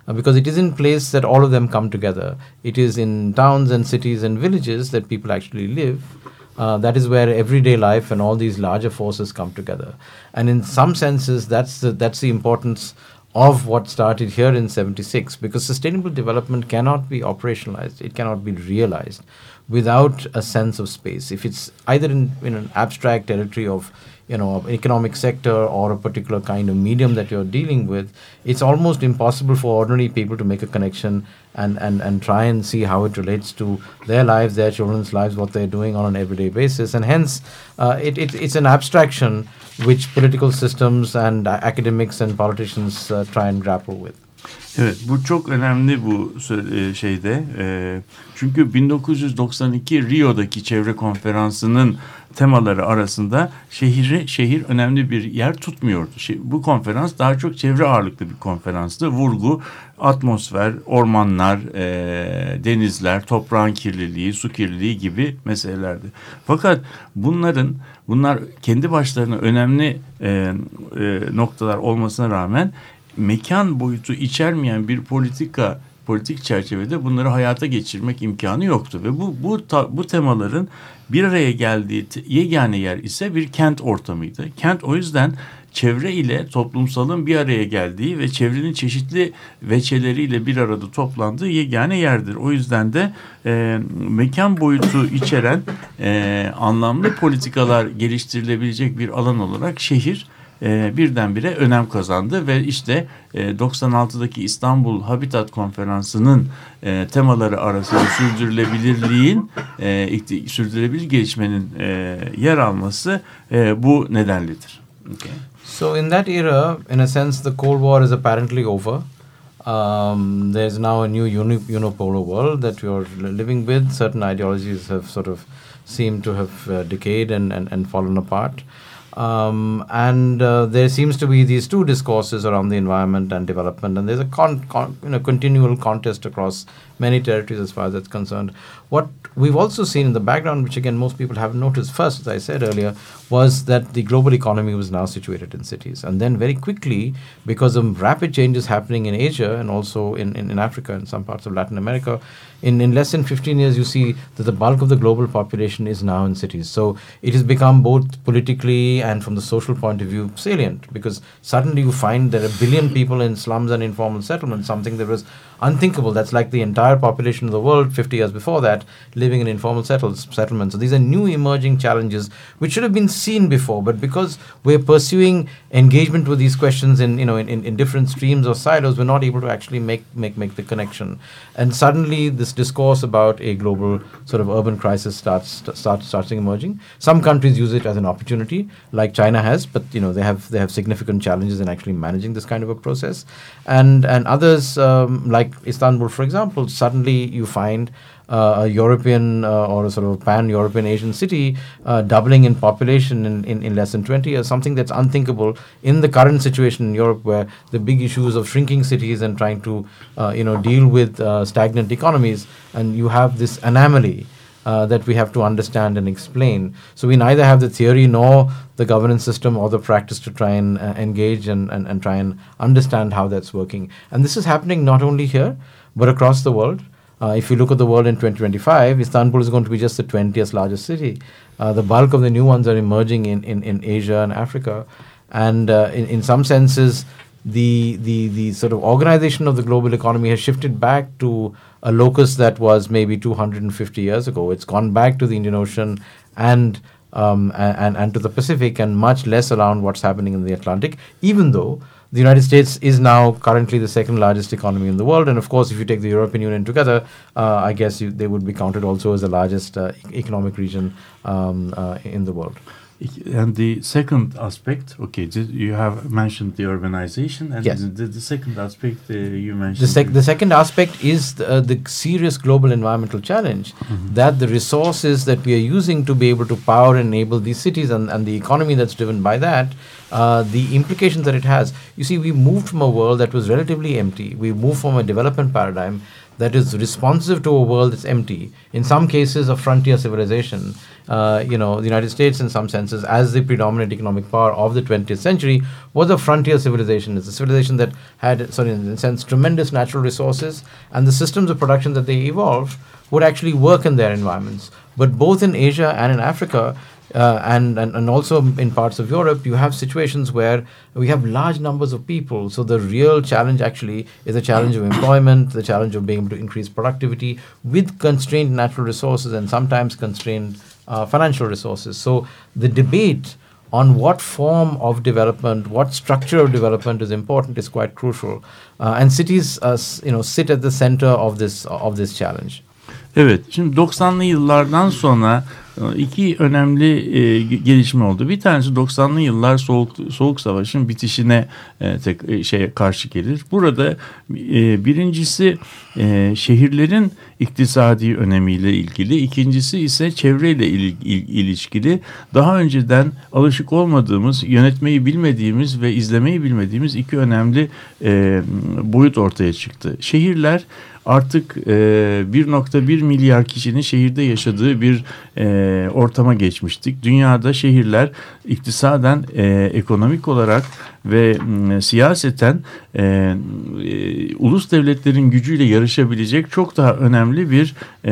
uh, because it is in place that all of them come together. It is in towns and cities and villages that people actually live. Uh, that is where everyday life and all these larger forces come together. And in some senses, that's the, that's the importance of what started here in seventy-six, because sustainable development cannot be operationalized, it cannot be realized without a sense of space. If it's either in, in an abstract territory of, you know, an economic sector or a particular kind of medium that you're dealing with, it's almost impossible for ordinary people to make a connection and, and, and try and see how it relates to their lives, their children's lives, what they're doing on an everyday basis. And hence, uh, it, it, it's an abstraction which political systems and uh, academics and politicians uh, try and grapple with. Evet, bu çok önemli bu şeyde. E, çünkü bin dokuz yüz doksan iki Rio'daki çevre konferansının temaları arasında şehri şehir önemli bir yer tutmuyordu. Şey, bu konferans daha çok çevre ağırlıklı bir konferanstı. Vurgu atmosfer, ormanlar, e, denizler, toprağın kirliliği, su kirliliği gibi meselelerdi. Fakat bunların bunlar kendi başlarına önemli e, e, noktalar olmasına rağmen mekan boyutu içermeyen bir politika politik çerçevede bunları hayata geçirmek imkanı yoktu ve bu bu ta, bu temaların bir araya geldiği te, yegane yer ise bir kent ortamıydı. Kent o yüzden çevre ile toplumsalın bir araya geldiği ve çevrenin çeşitli veçeleriyle bir arada toplandığı yegane yerdir. O yüzden de e, mekan boyutu içeren e, anlamlı politikalar geliştirilebilecek bir alan olarak şehir E, birdenbire önem kazandı ve işte e, doksan altıdaki İstanbul Habitat Konferansı'nın e, temaları arasında sürdürülebilirliğin, e, ikti, sürdürülebilir gelişmenin e, yer alması e, bu nedenlidir. Okay. So in that era, in a sense, the Cold War is apparently over. Um, there's now a new uni- unipolar world that you're living with. Certain ideologies have sort of seemed to have uh, decayed and, and, and fallen apart. Um, and uh, there seems to be these two discourses around the environment and development, and there's a con, con, you know, continual contest across many territories as far as that's concerned. What we've also seen in the background, which again most people haven't noticed first, as I said earlier, was that the global economy was now situated in cities. And then very quickly, because of rapid changes happening in Asia and also in, in, in Africa and some parts of Latin America, in, in less than fifteen years, you see that the bulk of the global population is now in cities. So it has become both politically and from the social point of view salient, because suddenly you find there are a billion people in slums and informal settlements, something that was unthinkable. That's like the entire population of the world fifty years before that living in informal settles, settlements. So these are new emerging challenges which should have been seen before, but because we're pursuing engagement with these questions in, you know, in, in, in different streams or silos, we're not able to actually make, make, make the connection. And suddenly this discourse about a global sort of urban crisis starts starts starts emerging. Some countries use it as an opportunity, like China has, but you know they have they have significant challenges in actually managing this kind of a process. And and others um, like Istanbul, for example, suddenly you find uh, a European uh, or a sort of pan-European Asian city uh, doubling in population in, in, in less than twenty years, something that's unthinkable in the current situation in Europe, where the big issues of shrinking cities and trying to uh, you know deal with uh, stagnant economies, and you have this anomaly Uh, that we have to understand and explain. So we neither have the theory nor the governance system or the practice to try and uh, engage and, and, and try and understand how that's working. And this is happening not only here, but across the world. Uh, if you look at the world in twenty twenty-five, Istanbul is going to be just the twentieth largest city. Uh, the bulk of the new ones are emerging in, in, in Asia and Africa. And uh, in, in some senses, the, the, the sort of organization of the global economy has shifted back to a locus that was maybe two hundred fifty years ago. It's gone back to the Indian Ocean and, um, and, and to the Pacific, and much less around what's happening in the Atlantic, even though the United States is now currently the second largest economy in the world. And of course, if you take the European Union together, uh, I guess you, they would be counted also as the largest uh, economic region um, uh, in the world. And the second aspect, okay, you have mentioned the urbanization, and yes. the, the second aspect uh, you mentioned. The, sec- the second aspect is the, uh, the serious global environmental challenge, mm-hmm. that the resources that we are using to be able to power and enable these cities and, and the economy that's driven by that, uh, the implications that it has. You see, we moved from a world that was relatively empty. We moved from a development paradigm that is responsive to a world that's empty, in some cases a frontier civilization, uh, you know, the United States in some senses, as the predominant economic power of the twentieth century, was a frontier civilization. It's a civilization that had, sorry, in a sense, tremendous natural resources, and the systems of production that they evolved would actually work in their environments. But both in Asia and in Africa, Uh, and, and and also in parts of Europe, you have situations where we have large numbers of people. So the real challenge actually is the challenge of employment, the challenge of being able to increase productivity with constrained natural resources and sometimes constrained uh, financial resources. So the debate on what form of development, what structure of development is important is quite crucial. Uh, and cities, uh, you know, sit at the center of this of this challenge. Evet, şimdi doksanlı yıllardan sonra iki önemli e, gelişme oldu. Bir tanesi doksanlı yıllar soğuk soğuk savaşın bitişine e, tek e, şeye karşı gelir. Burada e, birincisi e, şehirlerin iktisadi önemiyle ilgili, ikincisi ise çevreyle il, il, ilişkili. Daha önceden alışık olmadığımız, yönetmeyi bilmediğimiz ve izlemeyi bilmediğimiz iki önemli e, boyut ortaya çıktı. Şehirler artık e, bir nokta bir milyar kişinin şehirde yaşadığı bir e, ortama geçmiştik. Dünyada şehirler iktisaden, e, ekonomik olarak ve e, siyaseten e, e, ulus devletlerin gücüyle yarışabilecek çok daha önemli bir e,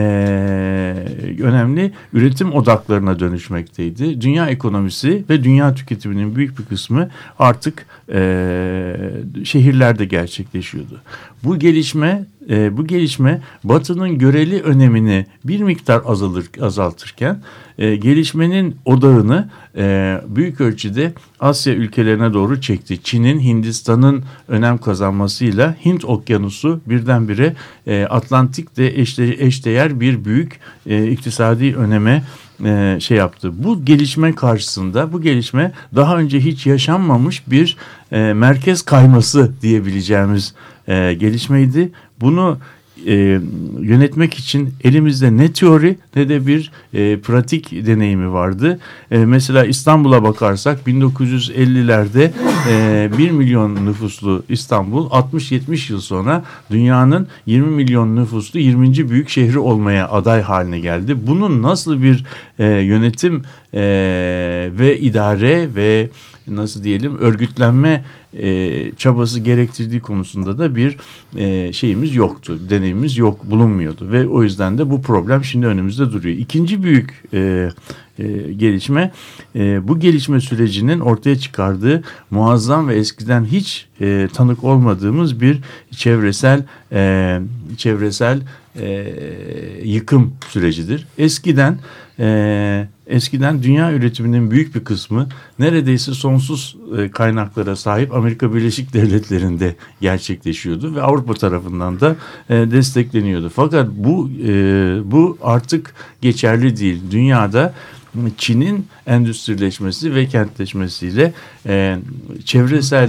önemli üretim odaklarına dönüşmekteydi. Dünya ekonomisi ve dünya tüketiminin büyük bir kısmı artık e, şehirlerde gerçekleşiyordu. Bu gelişme e, bu gelişme Batı'nın göreli önemini bir miktar azalır azaltırken e, gelişmenin odağını e, büyük ölçüde Asya ülkelerine doğru çekti. Çin'in, Hindistan'ın önem kazanmasıyla Hint Okyanusu birdenbire e, Atlantik'te eşde, eşdeğer bir büyük e, iktisadi öneme e, şey yaptı. Bu gelişme karşısında, bu gelişme daha önce hiç yaşanmamış bir e, merkez kayması diyebileceğimiz e, gelişmeydi. Bunu e, yönetmek için elimizde ne teori ne de bir e, pratik deneyimi vardı. E, mesela İstanbul'a bakarsak bin dokuz yüz ellilerde e, bir milyon nüfuslu İstanbul altmış yetmiş yıl sonra dünyanın yirmi milyon nüfuslu yirminci büyük şehri olmaya aday haline geldi. Bunun nasıl bir e, yönetim e, ve idare ve nasıl diyelim örgütlenme e, çabası gerektirdiği konusunda da bir e, şeyimiz yoktu, deneyimimiz yok, bulunmuyordu ve o yüzden de bu problem şimdi önümüzde duruyor. İkinci büyük e, e, gelişme e, bu gelişme sürecinin ortaya çıkardığı muazzam ve eskiden hiç e, tanık olmadığımız bir çevresel e, çevresel e, yıkım sürecidir. Eskiden e, eskiden dünya üretiminin büyük bir kısmı neredeyse sonsuz e, kaynaklara sahip Amerika Birleşik Devletleri'nde gerçekleşiyordu ve Avrupa tarafından da e, destekleniyordu. Fakat bu e, bu artık geçerli değil. Dünyada Çin'in endüstrileşmesi ve kentleşmesiyle e, çevresel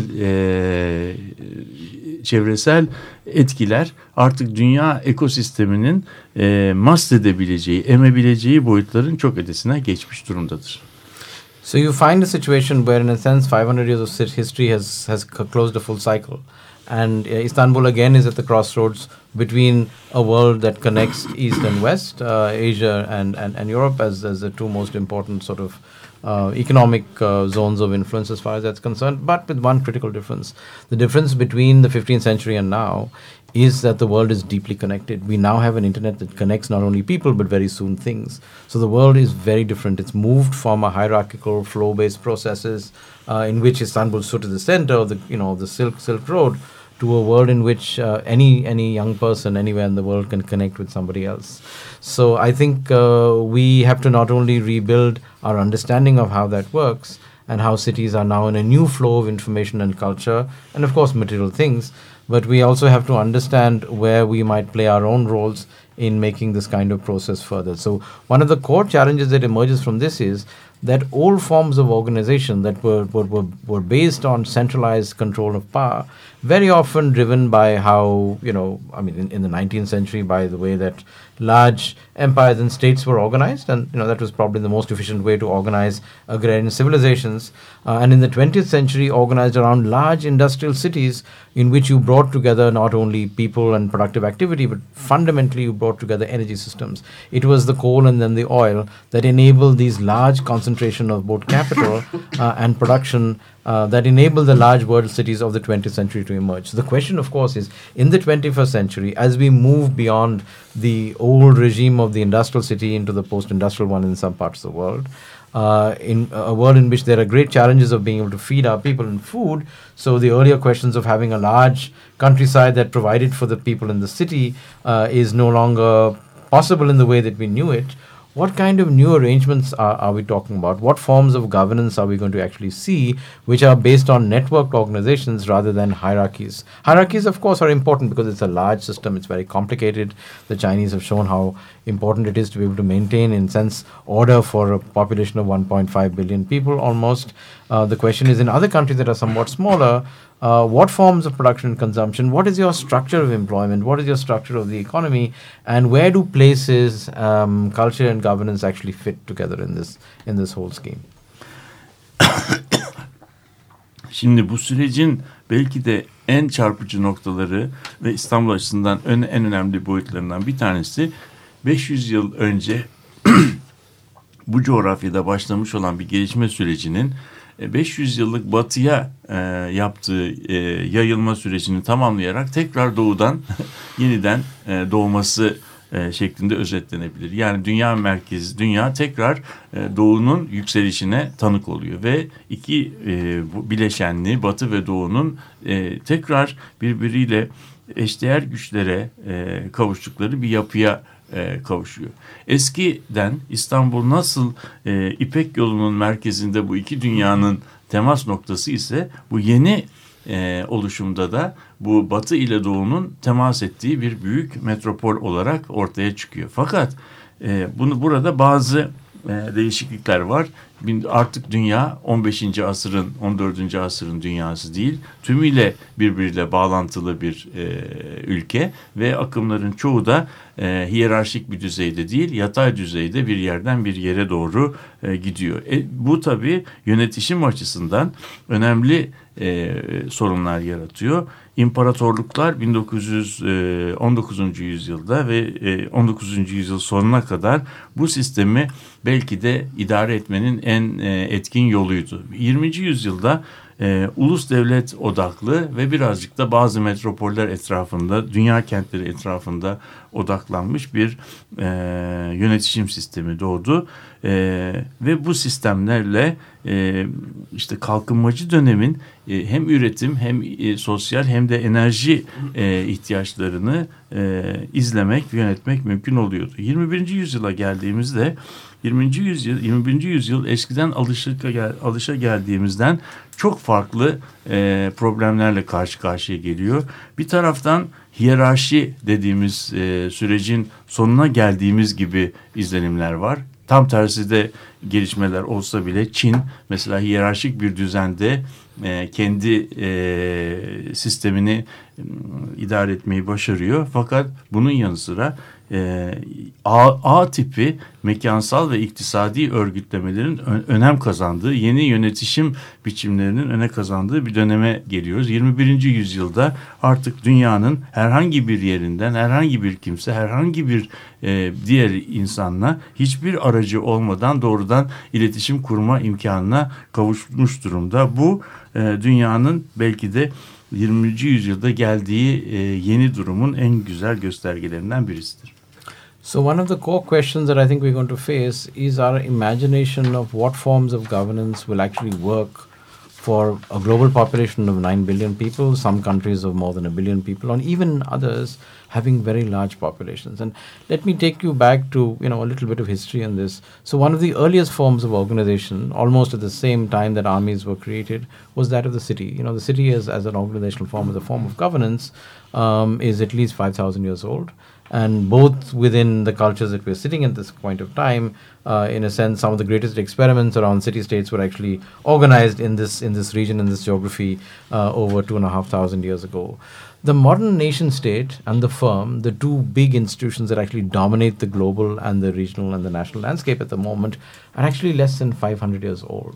e, çevresel etkiler artık dünya ekosisteminin e, mahsedebileceği, emebileceği boyutların çok ötesine geçmiş durumdadır. So you find a situation where in a sense five hundred years of history has, has closed a full cycle. And uh, Istanbul again is at the crossroads between a world that connects East and West, uh, Asia and, and, and Europe as, as the two most important sort of uh, economic uh, zones of influence as far as that's concerned, but with one critical difference. The difference between the fifteenth century and now is that the world is deeply connected. We now have an internet that connects not only people but very soon things. So the world is very different. It's moved from a hierarchical flow-based processes uh, in which Istanbul stood at the center of the you know the Silk Silk Road, to a world in which uh, any any young person anywhere in the world can connect with somebody else. So I think uh, we have to not only rebuild our understanding of how that works and how cities are now in a new flow of information and culture and of course material things, but we also have to understand where we might play our own roles in making this kind of process further. So one of the core challenges that emerges from this is that old forms of organization that were, were, were, were based on centralized control of power, very often driven by how, you know, I mean, in, in the nineteenth century, by the way that large empires and states were organized, and, you know, that was probably the most efficient way to organize agrarian civilizations. Uh, and in the twentieth century, organized around large industrial cities in which you brought together not only people and productive activity, but fundamentally you brought together energy systems. It was the coal and then the oil that enabled these large concentration of both capital uh, and production uh, that enabled the large world cities of the twentieth century to emerge. So the question, of course, is in the twenty-first century, as we move beyond the old regime of the industrial city into the post-industrial one in some parts of the world, Uh, in a world in which there are great challenges of being able to feed our people in food. So the earlier questions of having a large countryside that provided for the people in the city uh, is no longer possible in the way that we knew it. What kind of new arrangements are, are we talking about? What forms of governance are we going to actually see, which are based on networked organizations rather than hierarchies? Hierarchies, of course, are important because it's a large system. It's very complicated. The Chinese have shown how important it is to be able to maintain, in sense, order for a population of one point five billion people almost. Uh, the question is, in other countries that are somewhat smaller, Uh, what forms of production and consumption? What is your structure of employment? What is your structure of the economy? And where do places, um, culture and governance actually fit together in this in this whole scheme? Şimdi bu sürecin belki de en çarpıcı noktaları ve İstanbul açısından en, en önemli boyutlarından bir tanesi beş yüz yıl önce bu coğrafyada başlamış olan bir gelişme sürecinin beş yüz yıllık batıya e, yaptığı e, yayılma sürecini tamamlayarak tekrar doğudan yeniden e, doğması e, şeklinde özetlenebilir. Yani dünya merkezi, dünya tekrar e, doğunun yükselişine tanık oluyor ve iki e, bu bileşenli batı ve doğunun e, tekrar birbiriyle eşdeğer güçlere e, kavuştukları bir yapıya E, kavuşuyor. Eskiden İstanbul nasıl e, İpek yolunun merkezinde bu iki dünyanın temas noktası ise bu yeni e, oluşumda da bu batı ile doğunun temas ettiği bir büyük metropol olarak ortaya çıkıyor. Fakat e, bunu burada bazı e, değişiklikler var. Artık dünya on beşinci asırın, on dördüncü asırın dünyası değil, tümüyle birbiriyle bağlantılı bir e, ülke ve akımların çoğu da e, hiyerarşik bir düzeyde değil, yatay düzeyde bir yerden bir yere doğru e, gidiyor. E, bu tabii yönetişim açısından önemli e, sorunlar yaratıyor. İmparatorluklar bin dokuz yüz on dokuzuncu yüzyılda ve on dokuzuncu yüzyıl sonuna kadar bu sistemi belki de idare etmenin en etkin yoluydu. yirminci yüzyılda e, ulus devlet odaklı ve birazcık da bazı metropoller etrafında, dünya kentleri etrafında odaklanmış bir e, yönetişim sistemi doğdu. E, ve bu sistemlerle e, işte kalkınmacı dönemin e, hem üretim hem e, sosyal hem de enerji e, ihtiyaçlarını e, izlemek, yönetmek mümkün oluyordu. yirmi birinci yüzyıla geldiğimizde yirminci yüzyıl, yirmi birinci yüzyıl eskiden alışa, alışa geldiğimizden çok farklı e, problemlerle karşı karşıya geliyor. Bir taraftan hiyerarşi dediğimiz e, sürecin sonuna geldiğimiz gibi izlenimler var. Tam tersi de gelişmeler olsa bile Çin mesela hiyerarşik bir düzende e, kendi e, sistemini e, idare etmeyi başarıyor. Fakat bunun yanı sıra e, A, A tipi mekansal ve iktisadi örgütlemelerin ö- önem kazandığı, yeni yönetişim biçimlerinin öne kazandığı bir döneme geliyoruz. yirmi birinci yüzyılda artık dünyanın herhangi bir yerinden herhangi bir kimse, herhangi bir e, diğer insanla hiçbir aracı olmadan doğrudan iletişim kurma imkanına kavuşmuş durumda. Bu e, dünyanın belki de yirminci yüzyılda geldiği e, yeni durumun en güzel göstergelerinden birisidir. So one of the core questions that I think we're going to face is our imagination of what forms of governance will actually work for a global population of nine billion people, some countries of more than a billion people, and even others having very large populations. And let me take you back to, you know, a little bit of history on this. So one of the earliest forms of organization, almost at the same time that armies were created, was that of the city. You know, the city is, as an organizational form, as a form of governance, um, is at least five thousand years old. And both within the cultures that we're sitting at this point of time, uh, in a sense, some of the greatest experiments around city-states were actually organized in this in this region, in this geography, uh, over two and a half thousand years ago. The modern nation-state and the firm, the two big institutions that actually dominate the global and the regional and the national landscape at the moment, are actually less than five hundred years old.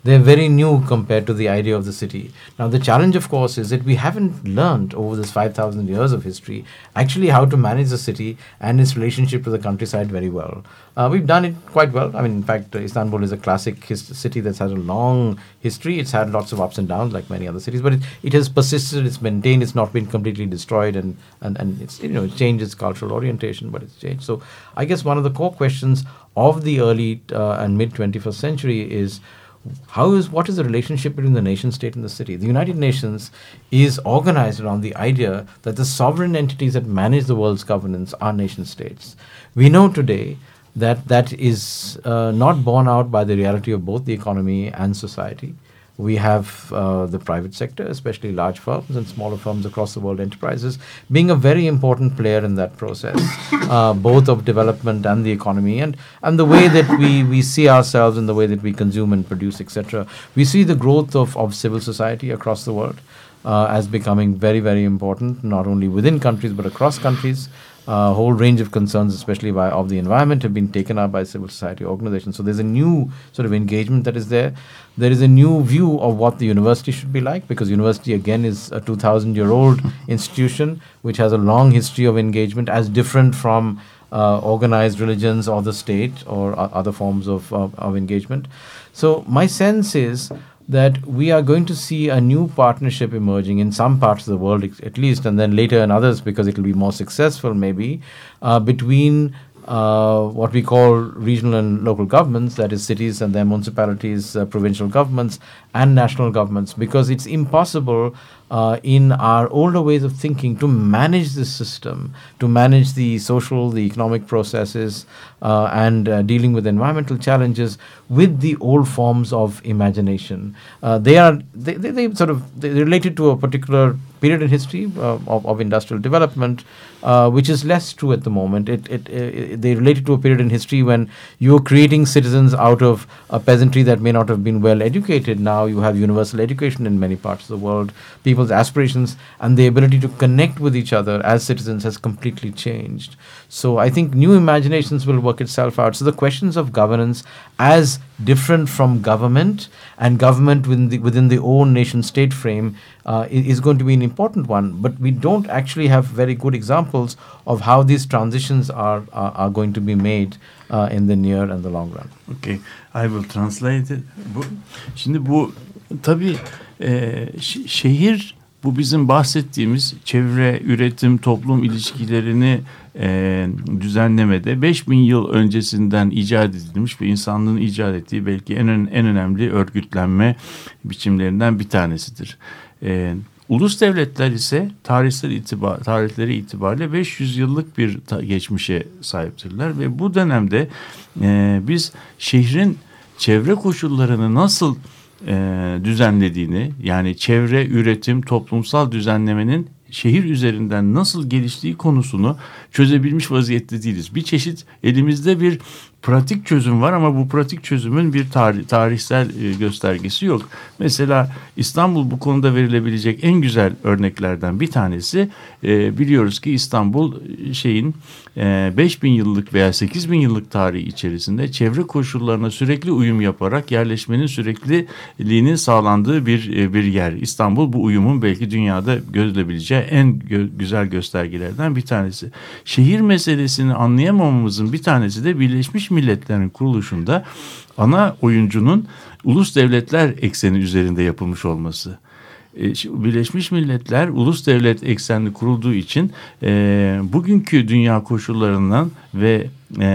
they're very new compared to the idea of the city. Now, the challenge, of course, is that we haven't learned over this five thousand years of history actually how to manage the city and its relationship to the countryside very well. Uh, we've done it quite well. I mean, in fact, uh, Istanbul is a classic his- city that's had a long history. It's had lots of ups and downs like many other cities, but it, it has persisted, it's maintained, it's not been completely destroyed, and, and, and it's, you know, it changed its cultural orientation, but it's changed. So I guess one of the core questions of the early uh, and mid twenty-first century is, How is what is the relationship between the nation state and the city? The United Nations is organized around the idea that the sovereign entities that manage the world's governance are nation states. We know today that that is uh, not borne out by the reality of both the economy and society. We have uh, the private sector, especially large firms and smaller firms across the world, enterprises, being a very important player in that process, uh, both of development and the economy, and, and the way that we, we see ourselves and the way that we consume and produce, et cetera. We see the growth of, of civil society across the world uh, as becoming very, very important, not only within countries but across countries. A uh, whole range of concerns, especially by, of the environment, have been taken up by civil society organizations. So there's a new sort of engagement that is there. There is a new view of what the university should be like, because university, again, is a two thousand year old institution which has a long history of engagement, as different from uh, organized religions or the state or uh, other forms of, of, of engagement. So my sense is that we are going to see a new partnership emerging in some parts of the world, at least, and then later in others, because it will be more successful maybe, uh, between uh, what we call regional and local governments, that is cities and their municipalities, uh, provincial governments, and national governments, because it's impossible uh, in our older ways of thinking to manage this system, to manage the social, the economic processes, uh, and uh, dealing with environmental challenges with the old forms of imagination. Uh, they are they, they, they sort of they're related to a particular period in history uh, of, of industrial development, uh, which is less true at the moment. It, it, it they related to a period in history when you were creating citizens out of a peasantry that may not have been well educated. Now you have universal education in many parts of the world. People's aspirations and the ability to connect with each other as citizens has completely changed. So I think new imaginations will work itself out. So the questions of governance as different from government and government within the, within the own nation state frame uh, is going to be an important one. But we don't actually have very good examples of how these transitions are are, are going to be made uh, in the near and the long run. Okay, I will translate it. Bu, şimdi bu tabii e, ş- şehir, bu bizim bahsettiğimiz çevre, üretim, toplum ilişkilerini e, düzenlemede beş bin yıl öncesinden icat edilmiş ve insanlığın icat ettiği belki en en önemli örgütlenme biçimlerinden bir tanesidir. E, ulus devletler ise tarihsel itibar, tarihleri itibariyle beş yüz yıllık bir ta- geçmişe sahiptirler ve bu dönemde e, biz şehrin çevre koşullarını nasıl e, düzenlediğini, yani çevre, üretim, toplumsal düzenlemenin şehir üzerinden nasıl geliştiği konusunu çözebilmiş vaziyette değiliz. Bir çeşit elimizde bir pratik çözüm var ama bu pratik çözümün bir tarih, tarihsel e, göstergesi yok. Mesela İstanbul bu konuda verilebilecek en güzel örneklerden bir tanesi. E, biliyoruz ki İstanbul şeyin e, beş bin yıllık veya sekiz bin yıllık tarihi içerisinde çevre koşullarına sürekli uyum yaparak yerleşmenin sürekliliğinin sağlandığı bir e, bir yer. İstanbul bu uyumun belki dünyada gözleyebileceği en gö- güzel göstergelerden bir tanesi. Şehir meselesini anlayamamamızın bir tanesi de Birleşmiş Milletler'in kuruluşunda ana oyuncunun ulus devletler ekseni üzerinde yapılmış olması. E, Birleşmiş Milletler ulus devlet eksenli kurulduğu için e, bugünkü dünya koşullarından ve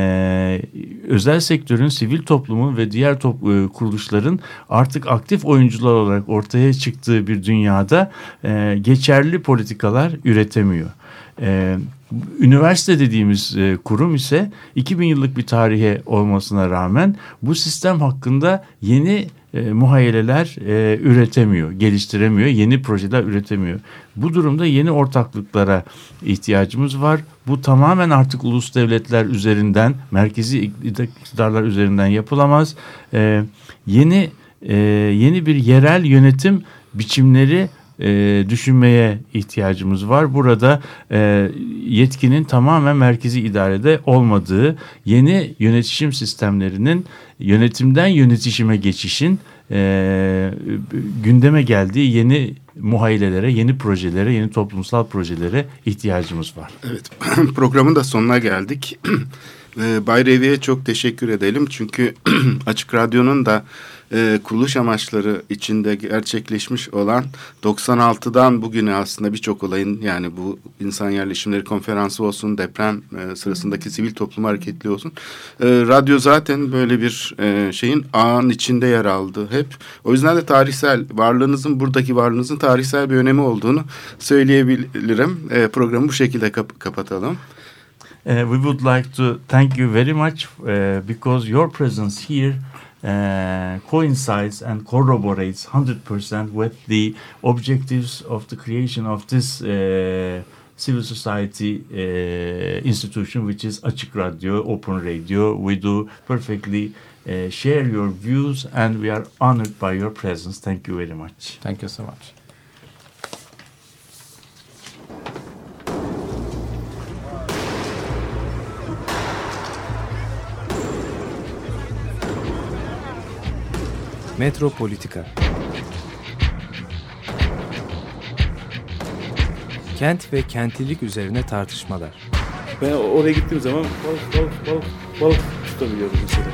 e, özel sektörün, sivil toplumun ve diğer top, e, kuruluşların artık aktif oyuncular olarak ortaya çıktığı bir dünyada e, geçerli politikalar üretemiyor. Ee, üniversite dediğimiz e, kurum ise iki bin yıllık bir tarihe olmasına rağmen bu sistem hakkında yeni e, muhayyeleler e, üretemiyor, geliştiremiyor, yeni projeler üretemiyor. Bu durumda yeni ortaklıklara ihtiyacımız var. Bu tamamen artık ulus devletler üzerinden, merkezi iktidarlar üzerinden yapılamaz. E, yeni e, yeni bir yerel yönetim biçimleri E, düşünmeye ihtiyacımız var. Burada e, yetkinin tamamen merkezi idarede olmadığı, yeni yönetişim sistemlerinin yönetimden yönetişime geçişin e, gündeme geldiği yeni muhayyilelere, yeni projelere, yeni toplumsal projelere ihtiyacımız var. Evet, programın da sonuna geldik. Bay Revi'ye çok teşekkür edelim. Çünkü Açık Radyo'nun da e, kuruluş amaçları içinde gerçekleşmiş olan doksan altıdan bugüne aslında birçok olayın, yani bu insan yerleşimleri konferansı olsun, deprem e, sırasındaki sivil toplum hareketliği olsun. E, radyo zaten böyle bir e, şeyin ağın içinde yer aldı hep. O yüzden de tarihsel varlığınızın, buradaki varlığınızın tarihsel bir önemi olduğunu söyleyebilirim. E, programı bu şekilde kap- kapatalım. Uh, we would like to thank you very much uh, because your presence here uh, coincides and corroborates one hundred percent with the objectives of the creation of this uh, civil society uh, institution, which is Açık Radio, Open Radio. We do perfectly uh, share your views and we are honored by your presence. Thank you very much. Thank you so much. Metropolitika. Kent ve kentlilik üzerine tartışmalar. Ben oraya gittiğim zaman balık balık balık balık tutabiliyordum mesela.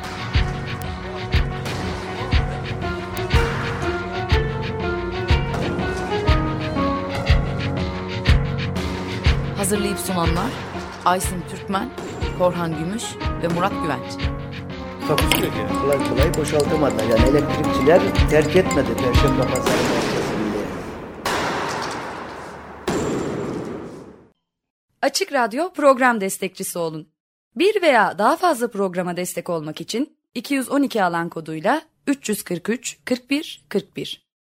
Hazırlayıp sunanlar Aysin Türkmen, Korhan Gümüş ve Murat Güvenç. Takusuyor ki. Kolay kolay boşaltamadılar. Yani elektrikçiler terk etmedi Perşembe Pazarı merkezini. Açık Radyo program destekçisi olun. Bir veya daha fazla programa destek olmak için iki yüz on iki alan koduyla üç yüz kırk üç kırk bir kırk bir